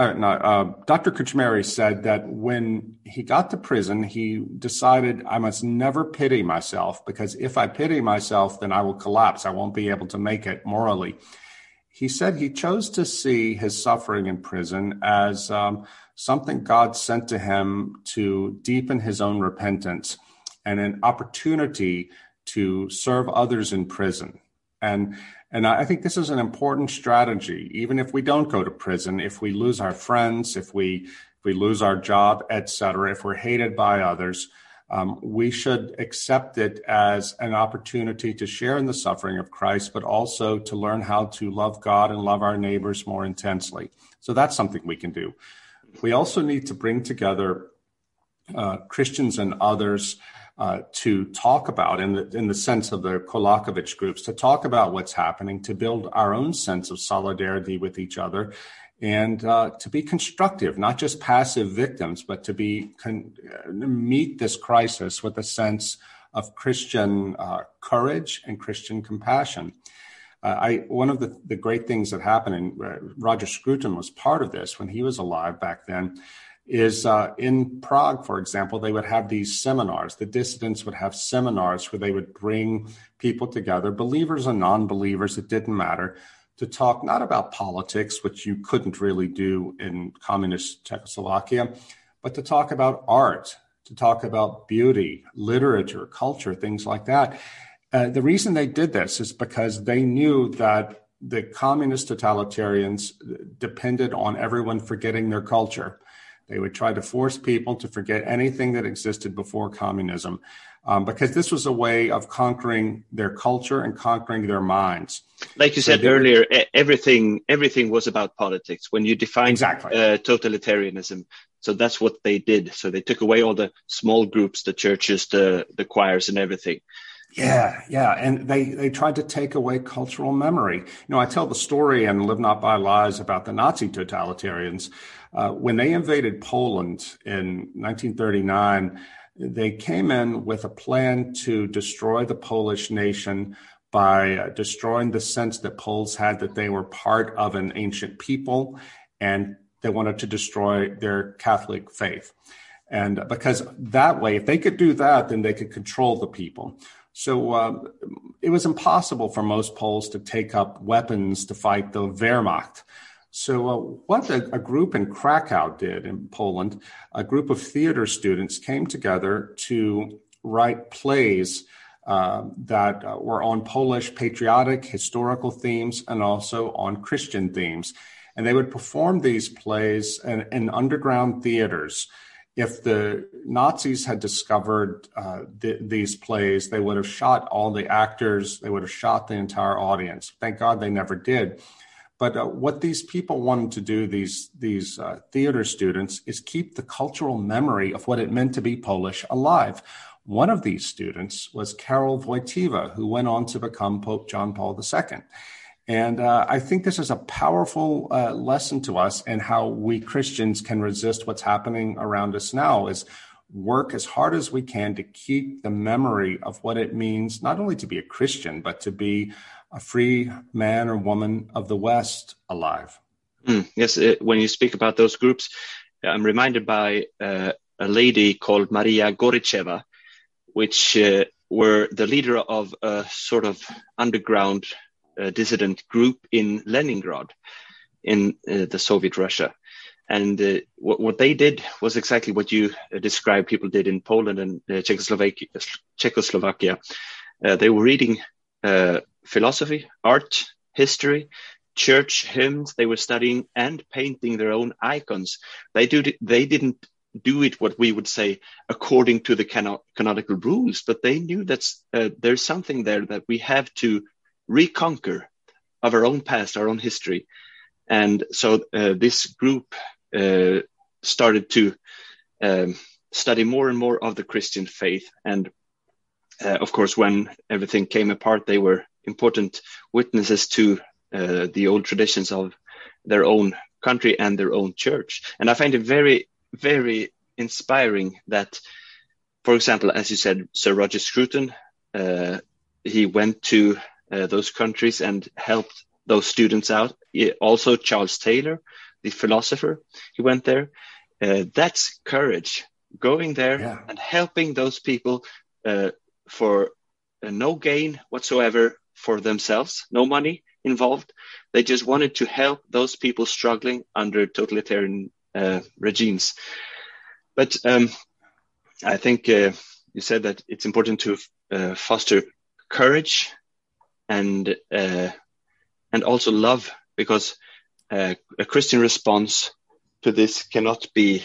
Krčmáry said that when he got to prison, he decided, "I must never pity myself, because if I pity myself, then I will collapse. I won't be able to make it morally." He said he chose to see his suffering in prison as something God sent to him to deepen his own repentance and an opportunity to serve others in prison. And I think this is an important strategy, even if we don't go to prison, if we lose our friends, if we lose our job, etc., if we're hated by others, we should accept it as an opportunity to share in the suffering of Christ, but also to learn how to love God and love our neighbors more intensely. So that's something we can do. We also need to bring together Christians and others to talk about, in the sense of the Kolakovich groups, to talk about what's happening, to build our own sense of solidarity with each other, and to be constructive, not just passive victims, but to meet this crisis with a sense of Christian courage and Christian compassion. One of the great things that happened, and Roger Scruton was part of this when he was alive back then, is in Prague, for example, they would have these seminars. The dissidents would have seminars where they would bring people together, believers and non-believers, it didn't matter, to talk not about politics, which you couldn't really do in communist Czechoslovakia, but to talk about art, to talk about beauty, literature, culture, things like that. The reason they did this is because they knew that the communist totalitarians depended on everyone forgetting their culture. They would try to force people to forget anything that existed before communism, because this was a way of conquering their culture and conquering their minds. Like you said earlier, everything was about politics. When you define totalitarianism, so that's what they did. So they took away all the small groups, the churches, the choirs, and everything. Yeah. And they tried to take away cultural memory. I tell the story in Live Not by Lies about the Nazi totalitarians. When they invaded Poland in 1939, they came in with a plan to destroy the Polish nation by destroying the sense that Poles had that they were part of an ancient people, and they wanted to destroy their Catholic faith. And because that way, if they could do that, then they could control the people. So it was impossible for most Poles to take up weapons to fight the Wehrmacht. So what a group in Krakow did in Poland, a group of theater students came together to write plays that were on Polish patriotic, historical themes and also on Christian themes. And they would perform these plays in underground theaters. If the Nazis had discovered these plays, they would have shot all the actors. They would have shot the entire audience. Thank God they never did. But what these people wanted to do, these theater students, is keep the cultural memory of what it meant to be Polish alive. One of these students was Karol Wojtyła, who went on to become Pope John Paul II. And I think this is a powerful lesson to us in how we Christians can resist what's happening around us now, is work as hard as we can to keep the memory of what it means not only to be a Christian, but to be a free man or woman of the West alive. Yes, when you speak about those groups, I'm reminded by a lady called Maria Goricheva, which were the leader of a sort of underground dissident group in Leningrad in the Soviet Russia. And what they did was exactly what you described people did in Poland and Czechoslovakia. They were reading philosophy, art, history, church hymns. They were studying and painting their own icons. They didn't do it, what we would say, according to the canonical rules, but they knew that there's something there that we have to reconquer of our own past, our own history. And so this group started to study more and more of the Christian faith. And of course, when everything came apart, they were important witnesses to the old traditions of their own country and their own church. And I find it very, very inspiring that, for example, as you said, Sir Roger Scruton, he went to those countries and helped those students out. Also, Charles Taylor, the philosopher, he went there. That's courage, going there and helping those people for no gain whatsoever for themselves, no money involved. They just wanted to help those people struggling under totalitarian regimes. But I think you said that it's important to foster courage and also love, because a Christian response to this cannot be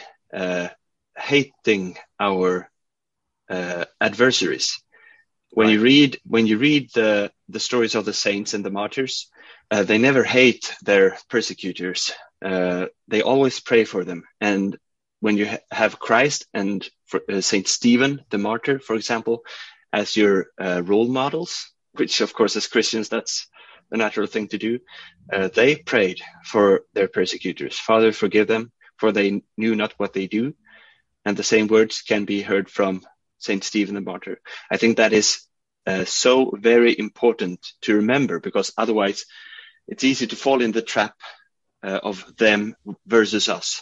hating our adversaries. When you read the stories of the saints and the martyrs, they never hate their persecutors. They always pray for them. And when you have Christ and Saint Stephen, the martyr, for example, as your role models, which of course as Christians, that's the natural thing to do. They prayed for their persecutors. Father, forgive them, for they knew not what they do. And the same words can be heard from Saint Stephen the martyr. I think that is so very important to remember, because otherwise it's easy to fall in the trap of them versus us.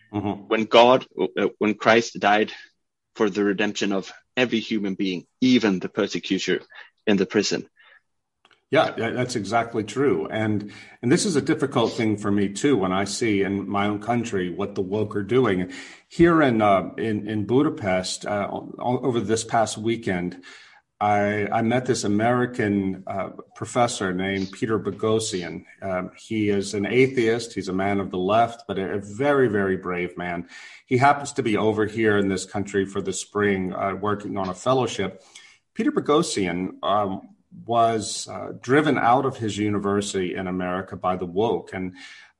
Mm-hmm. When Christ died for the redemption of every human being, even the persecutor in the prison. Yeah, that's exactly true. And this is a difficult thing for me too, when I see in my own country what the woke are doing. Here in Budapest, over this past weekend, I met this American professor named Peter Boghossian. He is an atheist. He's a man of the left, but a very, very brave man. He happens to be over here in this country for the spring, working on a fellowship. Peter Boghossian was driven out of his university in America by the woke. And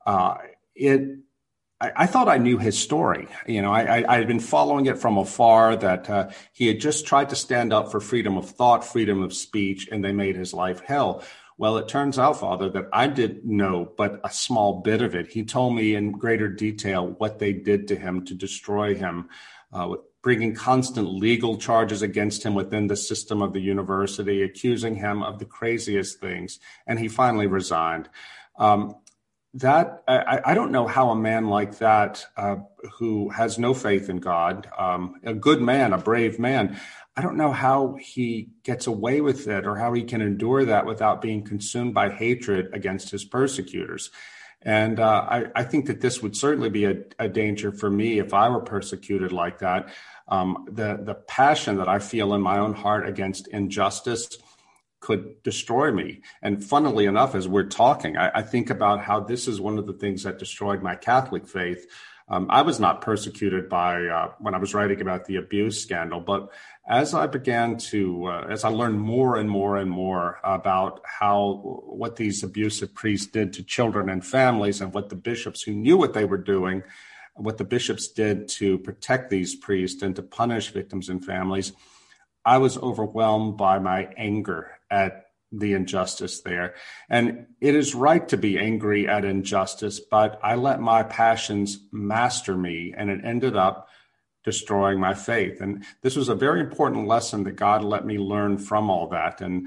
I thought I knew his story. You know, I had been following it from afar, that he had just tried to stand up for freedom of thought, freedom of speech, and they made his life hell. Well, it turns out, Father, that I didn't know but a small bit of it. He told me in greater detail what they did to him to destroy him, bringing constant legal charges against him within the system of the university, accusing him of the craziest things. And he finally resigned. I don't know how a man like that, who has no faith in God, a good man, a brave man, I don't know how he gets away with it, or how he can endure that without being consumed by hatred against his persecutors. And I think that this would certainly be a danger for me if I were persecuted like that. The passion that I feel in my own heart against injustice could destroy me. And funnily enough, as we're talking, I think about how this is one of the things that destroyed my Catholic faith. I was not persecuted by when I was writing about the abuse scandal, but as I began to, as I learned more and more and more about what these abusive priests did to children and families, and what the bishops who knew what they were doing, what the bishops did to protect these priests and to punish victims and families, I was overwhelmed by my anger at the injustice there. And it is right to be angry at injustice, but I let my passions master me, and it ended up destroying my faith. And this was a very important lesson that God let me learn from all that. And,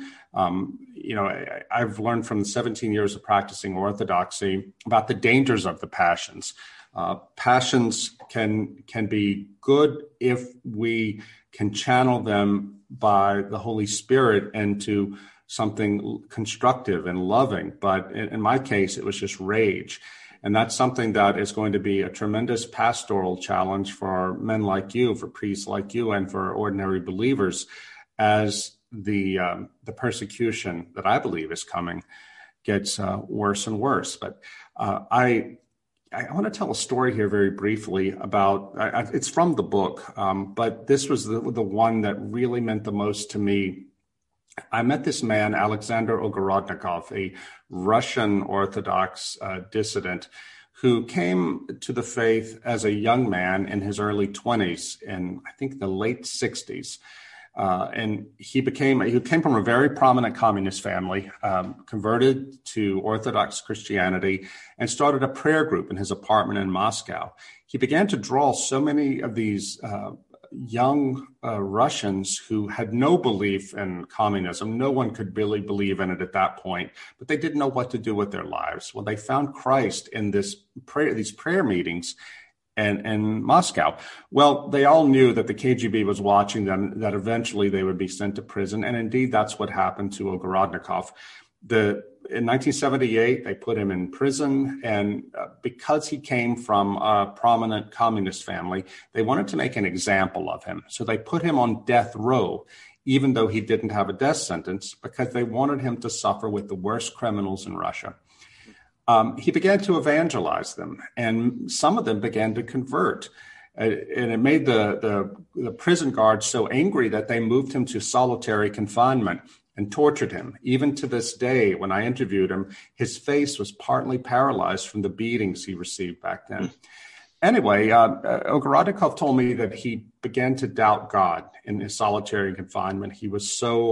I've learned from the 17 years of practicing Orthodoxy about the dangers of the passions. Passions can be good if we can channel them by the Holy Spirit into something constructive and loving. But in my case, it was just rage. And that's something that is going to be a tremendous pastoral challenge for men like you, for priests like you, and for ordinary believers, as the persecution that I believe is coming gets worse and worse. But I want to tell a story here very briefly about, it's from the book, but this was the one that really meant the most to me. I met this man, Alexander Ogorodnikov, a Russian Orthodox dissident, who came to the faith as a young man in his early 20s, in I think the late 60s. And he came from a very prominent communist family, converted to Orthodox Christianity, and started a prayer group in his apartment in Moscow. He began to draw so many of these young Russians who had no belief in communism. No one could really believe in it at that point, but they didn't know what to do with their lives. Well, they found Christ in these prayer meetings in Moscow. Well, they all knew that the KGB was watching them, that eventually they would be sent to prison. And indeed, that's what happened to Ogorodnikov. In 1978, they put him in prison. And because he came from a prominent communist family, they wanted to make an example of him. So they put him on death row, even though he didn't have a death sentence, because they wanted him to suffer with the worst criminals in Russia. He began to evangelize them, and some of them began to convert. And it made the prison guards so angry that they moved him to solitary confinement and tortured him. Even to this day, when I interviewed him, his face was partly paralyzed from the beatings he received back then. Anyway, Ogorodnikov told me that he began to doubt God in his solitary confinement. He was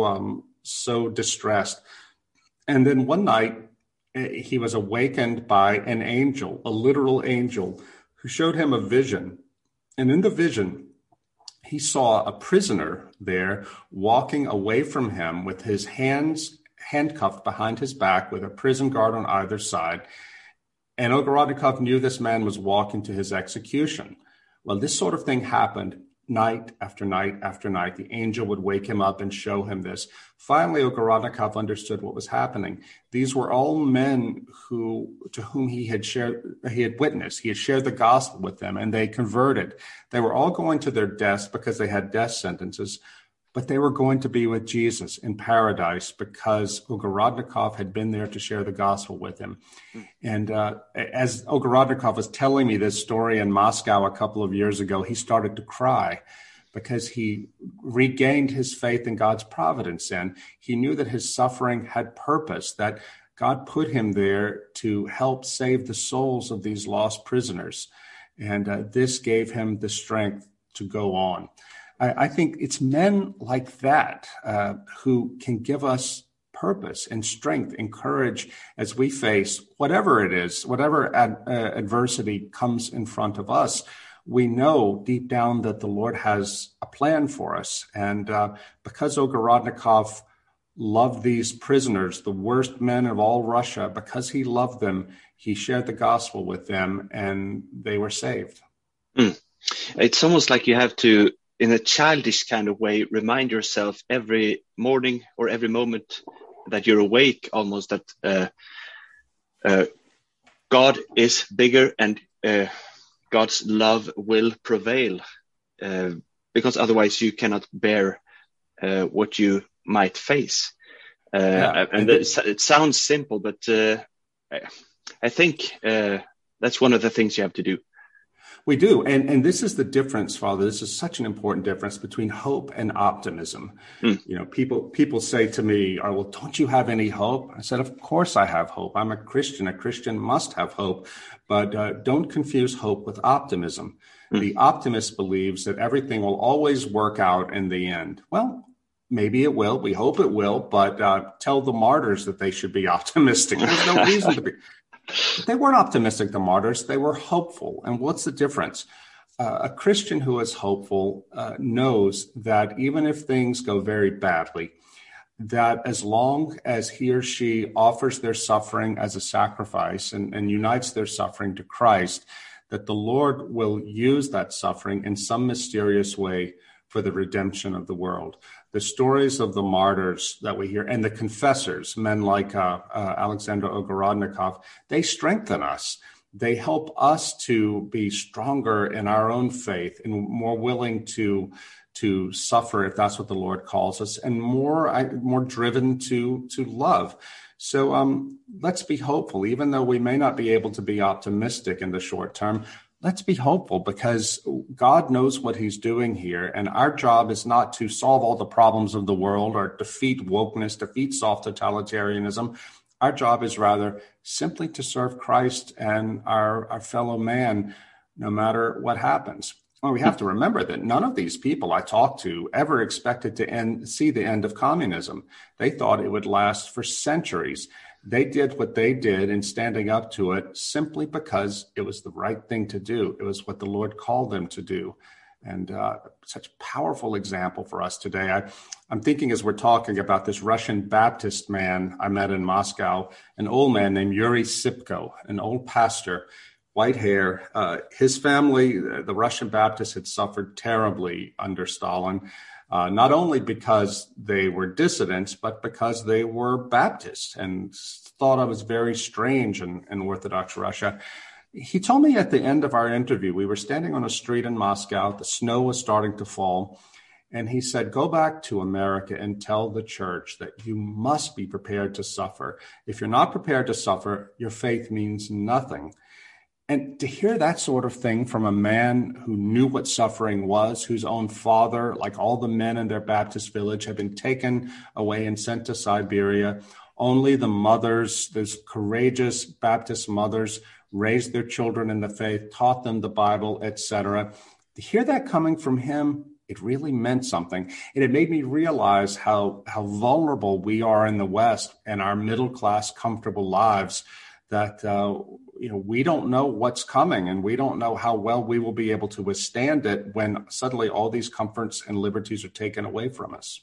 so distressed. And then one night, he was awakened by an angel, a literal angel, who showed him a vision. And in the vision, he saw a prisoner there walking away from him with his hands handcuffed behind his back with a prison guard on either side. And Ogorodnikov knew this man was walking to his execution. Well, this sort of thing happened night after night after night. The angel would wake him up and show him this. Finally, Ogorodnikov understood what was happening. These were all men to whom he had witnessed. He had shared the gospel with them, and they converted. They were all going to their deaths because they had death sentences, but they were going to be with Jesus in paradise because Ogorodnikov had been there to share the gospel with him. And as Ogorodnikov was telling me this story in Moscow a couple of years ago, he started to cry because he regained his faith in God's providence. And he knew that his suffering had purpose, that God put him there to help save the souls of these lost prisoners. And this gave him the strength to go on. I think it's men like that who can give us purpose and strength and courage as we face whatever it is, whatever adversity comes in front of us. We know deep down that the Lord has a plan for us. And because Ogorodnikov loved these prisoners, the worst men of all Russia, because he loved them, he shared the gospel with them and they were saved. It's almost like you have to, in a childish kind of way, remind yourself every morning or every moment that you're awake, almost that God is bigger and God's love will prevail, because otherwise you cannot bear what you might face. And it sounds simple, but I think that's one of the things you have to do. We do. And this is the difference, Father. This is such an important difference between hope and optimism. You know, people say to me, well, don't you have any hope? I said, of course I have hope. I'm a Christian. A Christian must have hope. But don't confuse hope with optimism. The optimist believes that everything will always work out in the end. Well, maybe it will. We hope it will. But tell the martyrs that they should be optimistic. There's no reason to be. They weren't optimistic, the martyrs. They were hopeful. And what's the difference? A Christian who is hopeful knows that even if things go very badly, that as long as he or she offers their suffering as a sacrifice and unites their suffering to Christ, that the Lord will use that suffering in some mysterious way for the redemption of the world. The stories of the martyrs that we hear and the confessors, men like Alexander Ogorodnikov, they strengthen us. They help us to be stronger in our own faith and more willing to suffer if that's what the Lord calls us, and more driven to love. So let's be hopeful, even though we may not be able to be optimistic in the short term. Let's be hopeful because God knows what he's doing here. And our job is not to solve all the problems of the world or defeat wokeness, defeat soft totalitarianism. Our job is rather simply to serve Christ and our fellow man, no matter what happens. Well, we have to remember that none of these people I talked to ever expected to see the end of communism. They thought it would last for centuries. They did what they did in standing up to it simply because it was the right thing to do. It was what the Lord called them to do. And such a powerful example for us today. I'm thinking as we're talking about this Russian Baptist man I met in Moscow, an old man named Yuri Sipko, an old pastor, white hair. His family, the Russian Baptists, had suffered terribly under Stalin, not only because they were dissidents, but because they were Baptists and thought of as very strange in Orthodox Russia. He told me at the end of our interview, we were standing on a street in Moscow, the snow was starting to fall, and he said, go back to America and tell the church that you must be prepared to suffer. If you're not prepared to suffer, your faith means nothing. And to hear that sort of thing from a man who knew what suffering was, whose own father, like all the men in their Baptist village, had been taken away and sent to Siberia, only the mothers, those courageous Baptist mothers, raised their children in the faith, taught them the Bible, etc. To hear that coming from him, it really meant something. And it made me realize how vulnerable we are in the West and our middle-class, comfortable lives, that we don't know what's coming, and we don't know how well we will be able to withstand it when suddenly all these comforts and liberties are taken away from us.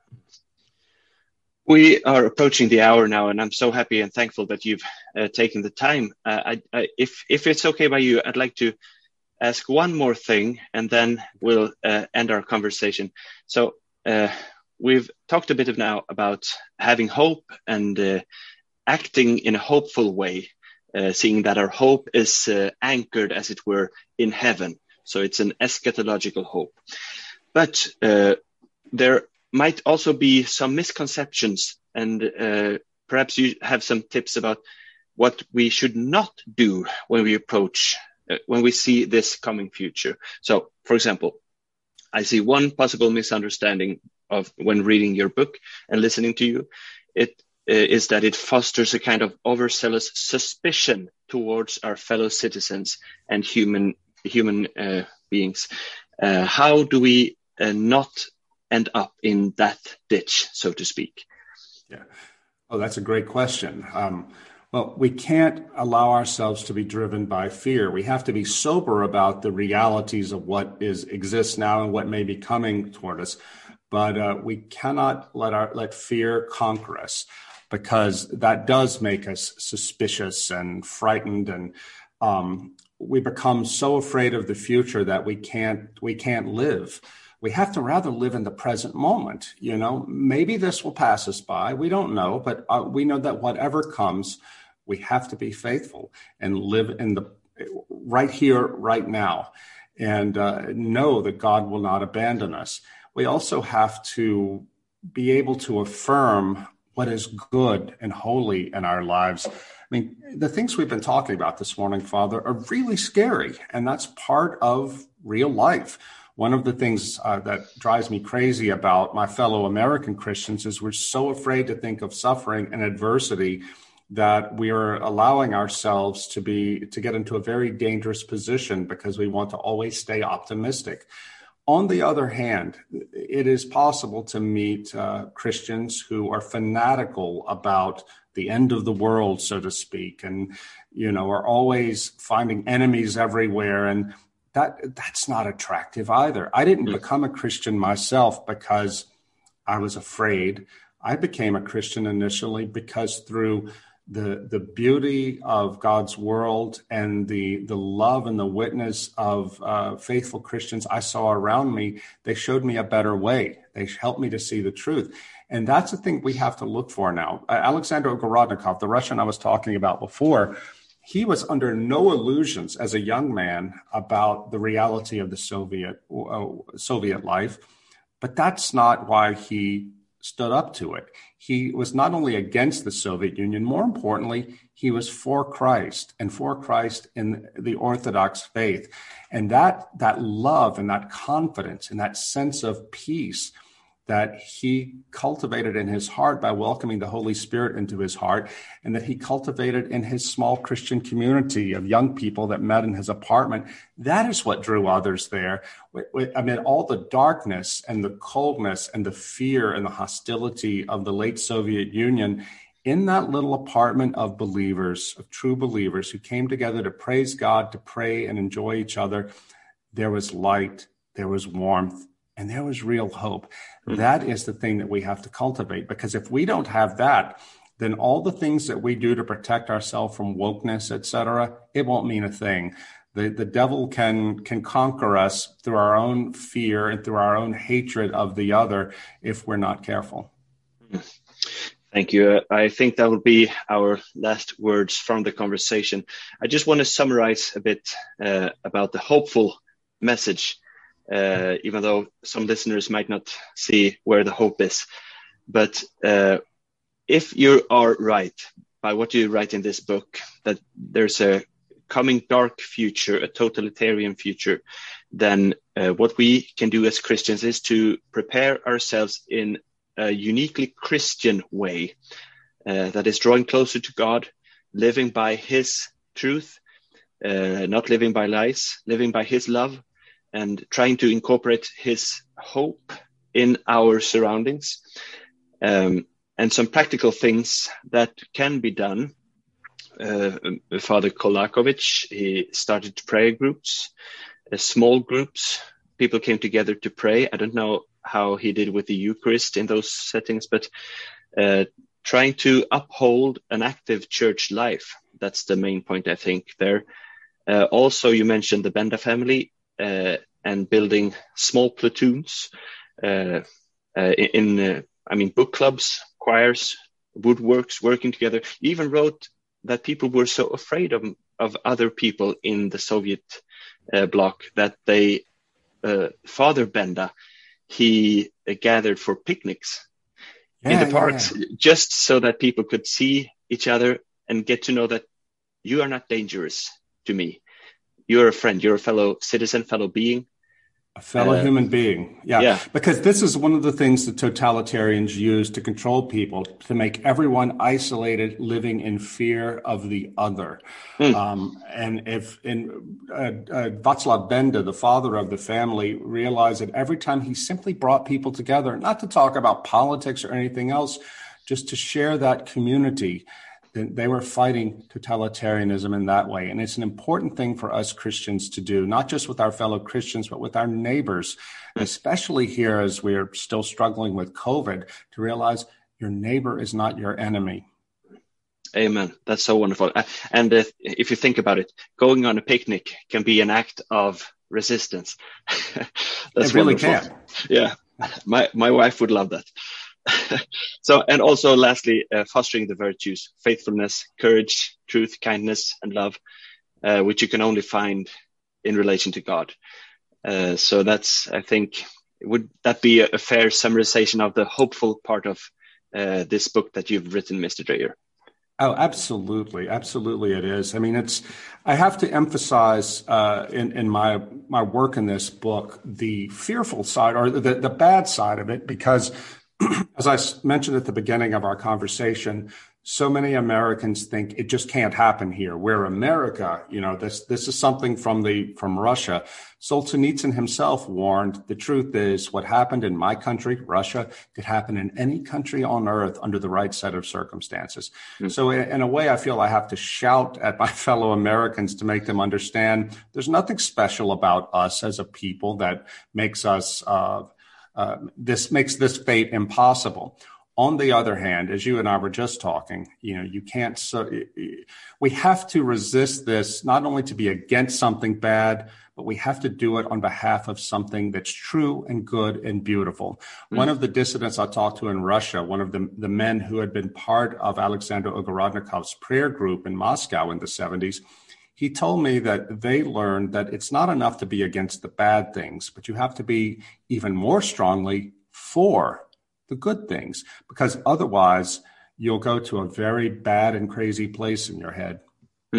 We are approaching the hour now, and I'm so happy and thankful that you've taken the time. If it's okay by you, I'd like to ask one more thing, and then we'll end our conversation. So we've talked a bit now about having hope and acting in a hopeful way, seeing that our hope is anchored, as it were, in heaven. So it's an eschatological hope. But there might also be some misconceptions, and perhaps you have some tips about what we should not do when we see this coming future. So, for example, I see one possible misunderstanding of when reading your book and listening to you. It is that it fosters a kind of overzealous suspicion towards our fellow citizens and human beings. How do we not end up in that ditch, so to speak? Yeah. Oh, that's a great question. Well, we can't allow ourselves to be driven by fear. We have to be sober about the realities of what exists now and what may be coming toward us. But we cannot let fear conquer us, because that does make us suspicious and frightened, and we become so afraid of the future that we can't live. We have to rather live in the present moment. Maybe this will pass us by. We don't know, but we know that whatever comes, we have to be faithful and live in the right here, right now, and know that God will not abandon us. We also have to be able to affirm what is good and holy in our lives. I mean, the things we've been talking about this morning, Father, are really scary, and that's part of real life. One of the things that drives me crazy about my fellow American Christians is we're so afraid to think of suffering and adversity that we are allowing ourselves to get into a very dangerous position because we want to always stay optimistic. On the other hand, it is possible to meet Christians who are fanatical about the end of the world, so to speak, and are always finding enemies everywhere, and that's not attractive either. I didn't become a Christian myself because I was afraid. I became a Christian initially because through the beauty of God's world and the love and the witness of faithful Christians I saw around me, they showed me a better way. They helped me to see the truth. And that's the thing we have to look for now. Alexander Gorodnikov, the Russian I was talking about before, he was under no illusions as a young man about the reality of the Soviet life, but that's not why he stood up to it. He was not only against the Soviet Union, more importantly, he was for Christ and for Christ in the Orthodox faith. And that love and that confidence and that sense of peace that he cultivated in his heart by welcoming the Holy Spirit into his heart, and that he cultivated in his small Christian community of young people that met in his apartment. That is what drew others there. Amid all the darkness and the coldness and the fear and the hostility of the late Soviet Union, in that little apartment of believers, of true believers who came together to praise God, to pray and enjoy each other, there was light, there was warmth, and there was real hope. That is the thing that we have to cultivate, because if we don't have that, then all the things that we do to protect ourselves from wokeness, etc., it won't mean a thing. The devil can conquer us through our own fear and through our own hatred of the other if we're not careful. Thank you. I think that would be our last words from the conversation. I just want to summarize a bit about the hopeful message, even though some listeners might not see where the hope is. But if you are right by what you write in this book, that there's a coming dark future, a totalitarian future, then what we can do as Christians is to prepare ourselves in a uniquely Christian way that is drawing closer to God, living by his truth, not living by lies, living by his love, and trying to incorporate his hope in our surroundings. And some practical things that can be done. Father Kolakovic, he started prayer groups, small groups. People came together to pray. I don't know how he did with the Eucharist in those settings, but trying to uphold an active church life. That's the main point, I think, there. Also, you mentioned the Benda family and building small platoons book clubs, choirs, woodworks, working together. You even wrote that people were so afraid of other people in the Soviet bloc that they, Father Benda, he gathered for picnics in the parks, just so that people could see each other and get to know that you are not dangerous to me. You're a friend, you're a fellow citizen, fellow being. A fellow human being. Yeah. Because this is one of the things that totalitarians use to control people, to make everyone isolated, living in fear of the other. And if Václav Benda, the father of the family, realized that every time he simply brought people together, not to talk about politics or anything else, just to share that community, then they were fighting totalitarianism in that way. And it's an important thing for us Christians to do, not just with our fellow Christians, but with our neighbors, especially here as we're still struggling with COVID, to realize your neighbor is not your enemy. Amen. That's so wonderful. And if you think about it, going on a picnic can be an act of resistance. That's it really wonderful. Can. Yeah. My wife would love that. So, and also lastly, fostering the virtues, faithfulness, courage, truth, kindness, and love, which you can only find in relation to God. So that's, I think, would that be a fair summarization of the hopeful part of this book that you've written, Mr. Dreyer? Oh, absolutely. Absolutely it is. I mean, I have to emphasize in my work in this book, the fearful side or the bad side of it, because as I mentioned at the beginning of our conversation, so many Americans think it just can't happen here. We're America. You know, this is something from Russia. Solzhenitsyn himself warned, the truth is what happened in my country, Russia, could happen in any country on earth under the right set of circumstances. So in a way, I feel I have to shout at my fellow Americans to make them understand there's nothing special about us as a people that makes us makes this fate impossible. On the other hand, as you and I were just talking, you know, we have to resist this, not only to be against something bad, but we have to do it on behalf of something that's true and good and beautiful. One of the dissidents I talked to in Russia, one of the men who had been part of Alexander Ogorodnikov's prayer group in Moscow in the 70s, he told me that they learned that it's not enough to be against the bad things, but you have to be even more strongly for the good things, because otherwise you'll go to a very bad and crazy place in your head.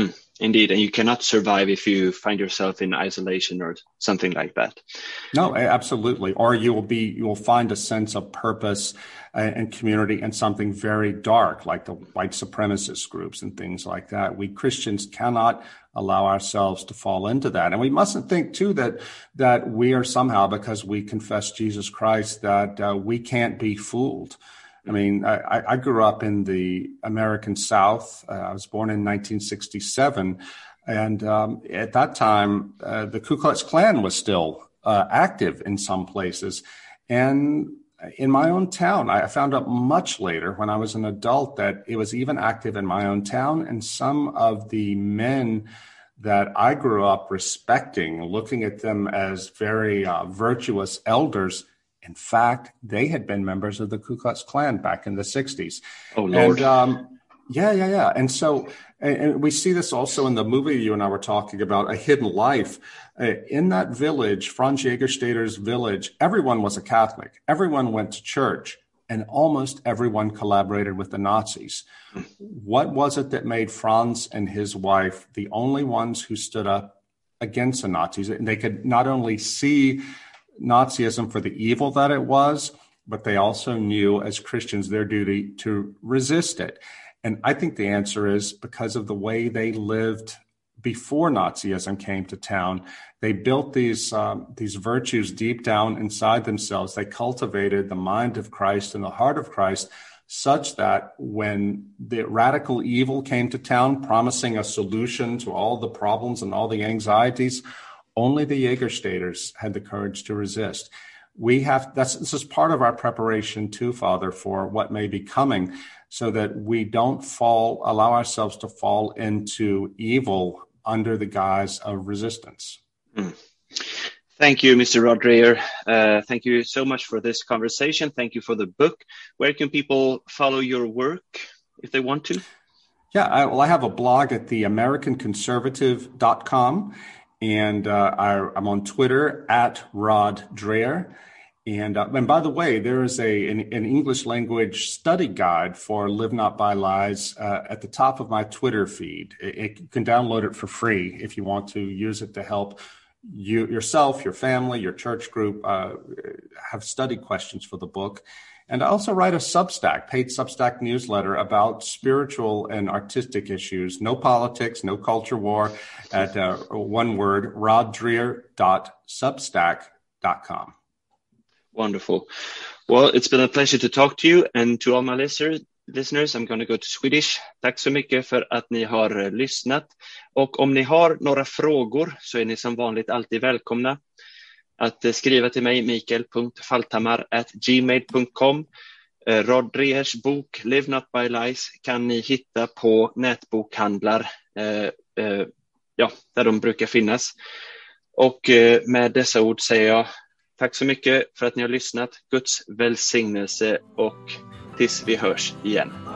Indeed, and you cannot survive if you find yourself in isolation or something like that. No, absolutely. Or you will find a sense of purpose and community in something very dark, like the white supremacist groups and things like that. We Christians cannot allow ourselves to fall into that. And we mustn't think, too, that we are somehow, because we confess Jesus Christ, that we can't be fooled. I mean, I grew up in the American South. I was born in 1967. And at that time, the Ku Klux Klan was still active in some places. And in my own town, I found out much later when I was an adult that it was even active in my own town. And some of the men that I grew up respecting, looking at them as very virtuous elders, in fact, they had been members of the Ku Klux Klan back in the 60s. Oh, Lord. And, yeah. And so, and we see this also in the movie you and I were talking about, A Hidden Life. In that village, Franz Jägerstätter's village, everyone was a Catholic. Everyone went to church, and almost everyone collaborated with the Nazis. What was it that made Franz and his wife the only ones who stood up against the Nazis? And they could not only see Nazism for the evil that it was, but they also knew as Christians their duty to resist it. And I think the answer is because of the way they lived before Nazism came to town. They built these virtues deep down inside themselves. They cultivated the mind of Christ and the heart of Christ, such that when the radical evil came to town, promising a solution to all the problems and all the anxieties, only the Jägerstätters had the courage to resist. This is part of our preparation too, Father, for what may be coming, so that we don't allow ourselves to fall into evil under the guise of resistance. Thank you, Mr. Rod Dreher. Thank you so much for this conversation. Thank you for the book. Where can people follow your work if they want to? Yeah, I have a blog at theamericanconservative.com. And I'm on Twitter at Rod Dreher. And by the way, there is an English language study guide for Live Not by Lies at the top of my Twitter feed. You can download it for free if you want to use it to help yourself, your family, your church group have study questions for the book. And I also write a paid Substack newsletter about spiritual and artistic issues. No politics, no culture war, at one word, roddreher.substack.com. Wonderful. Well, it's been a pleasure to talk to you, and to all my listeners, I'm going to go to Swedish. Tack så mycket för att ni har lyssnat. Och om ni har några frågor så är ni som vanligt alltid välkomna att skriva till mig, mikael.falthammar@gmail.com. Rod Drehers bok Live Not by Lies kan ni hitta på nätbokhandlar där de brukar finnas. Och med dessa ord säger jag tack så mycket för att ni har lyssnat. Guds välsignelse och tills vi hörs igen.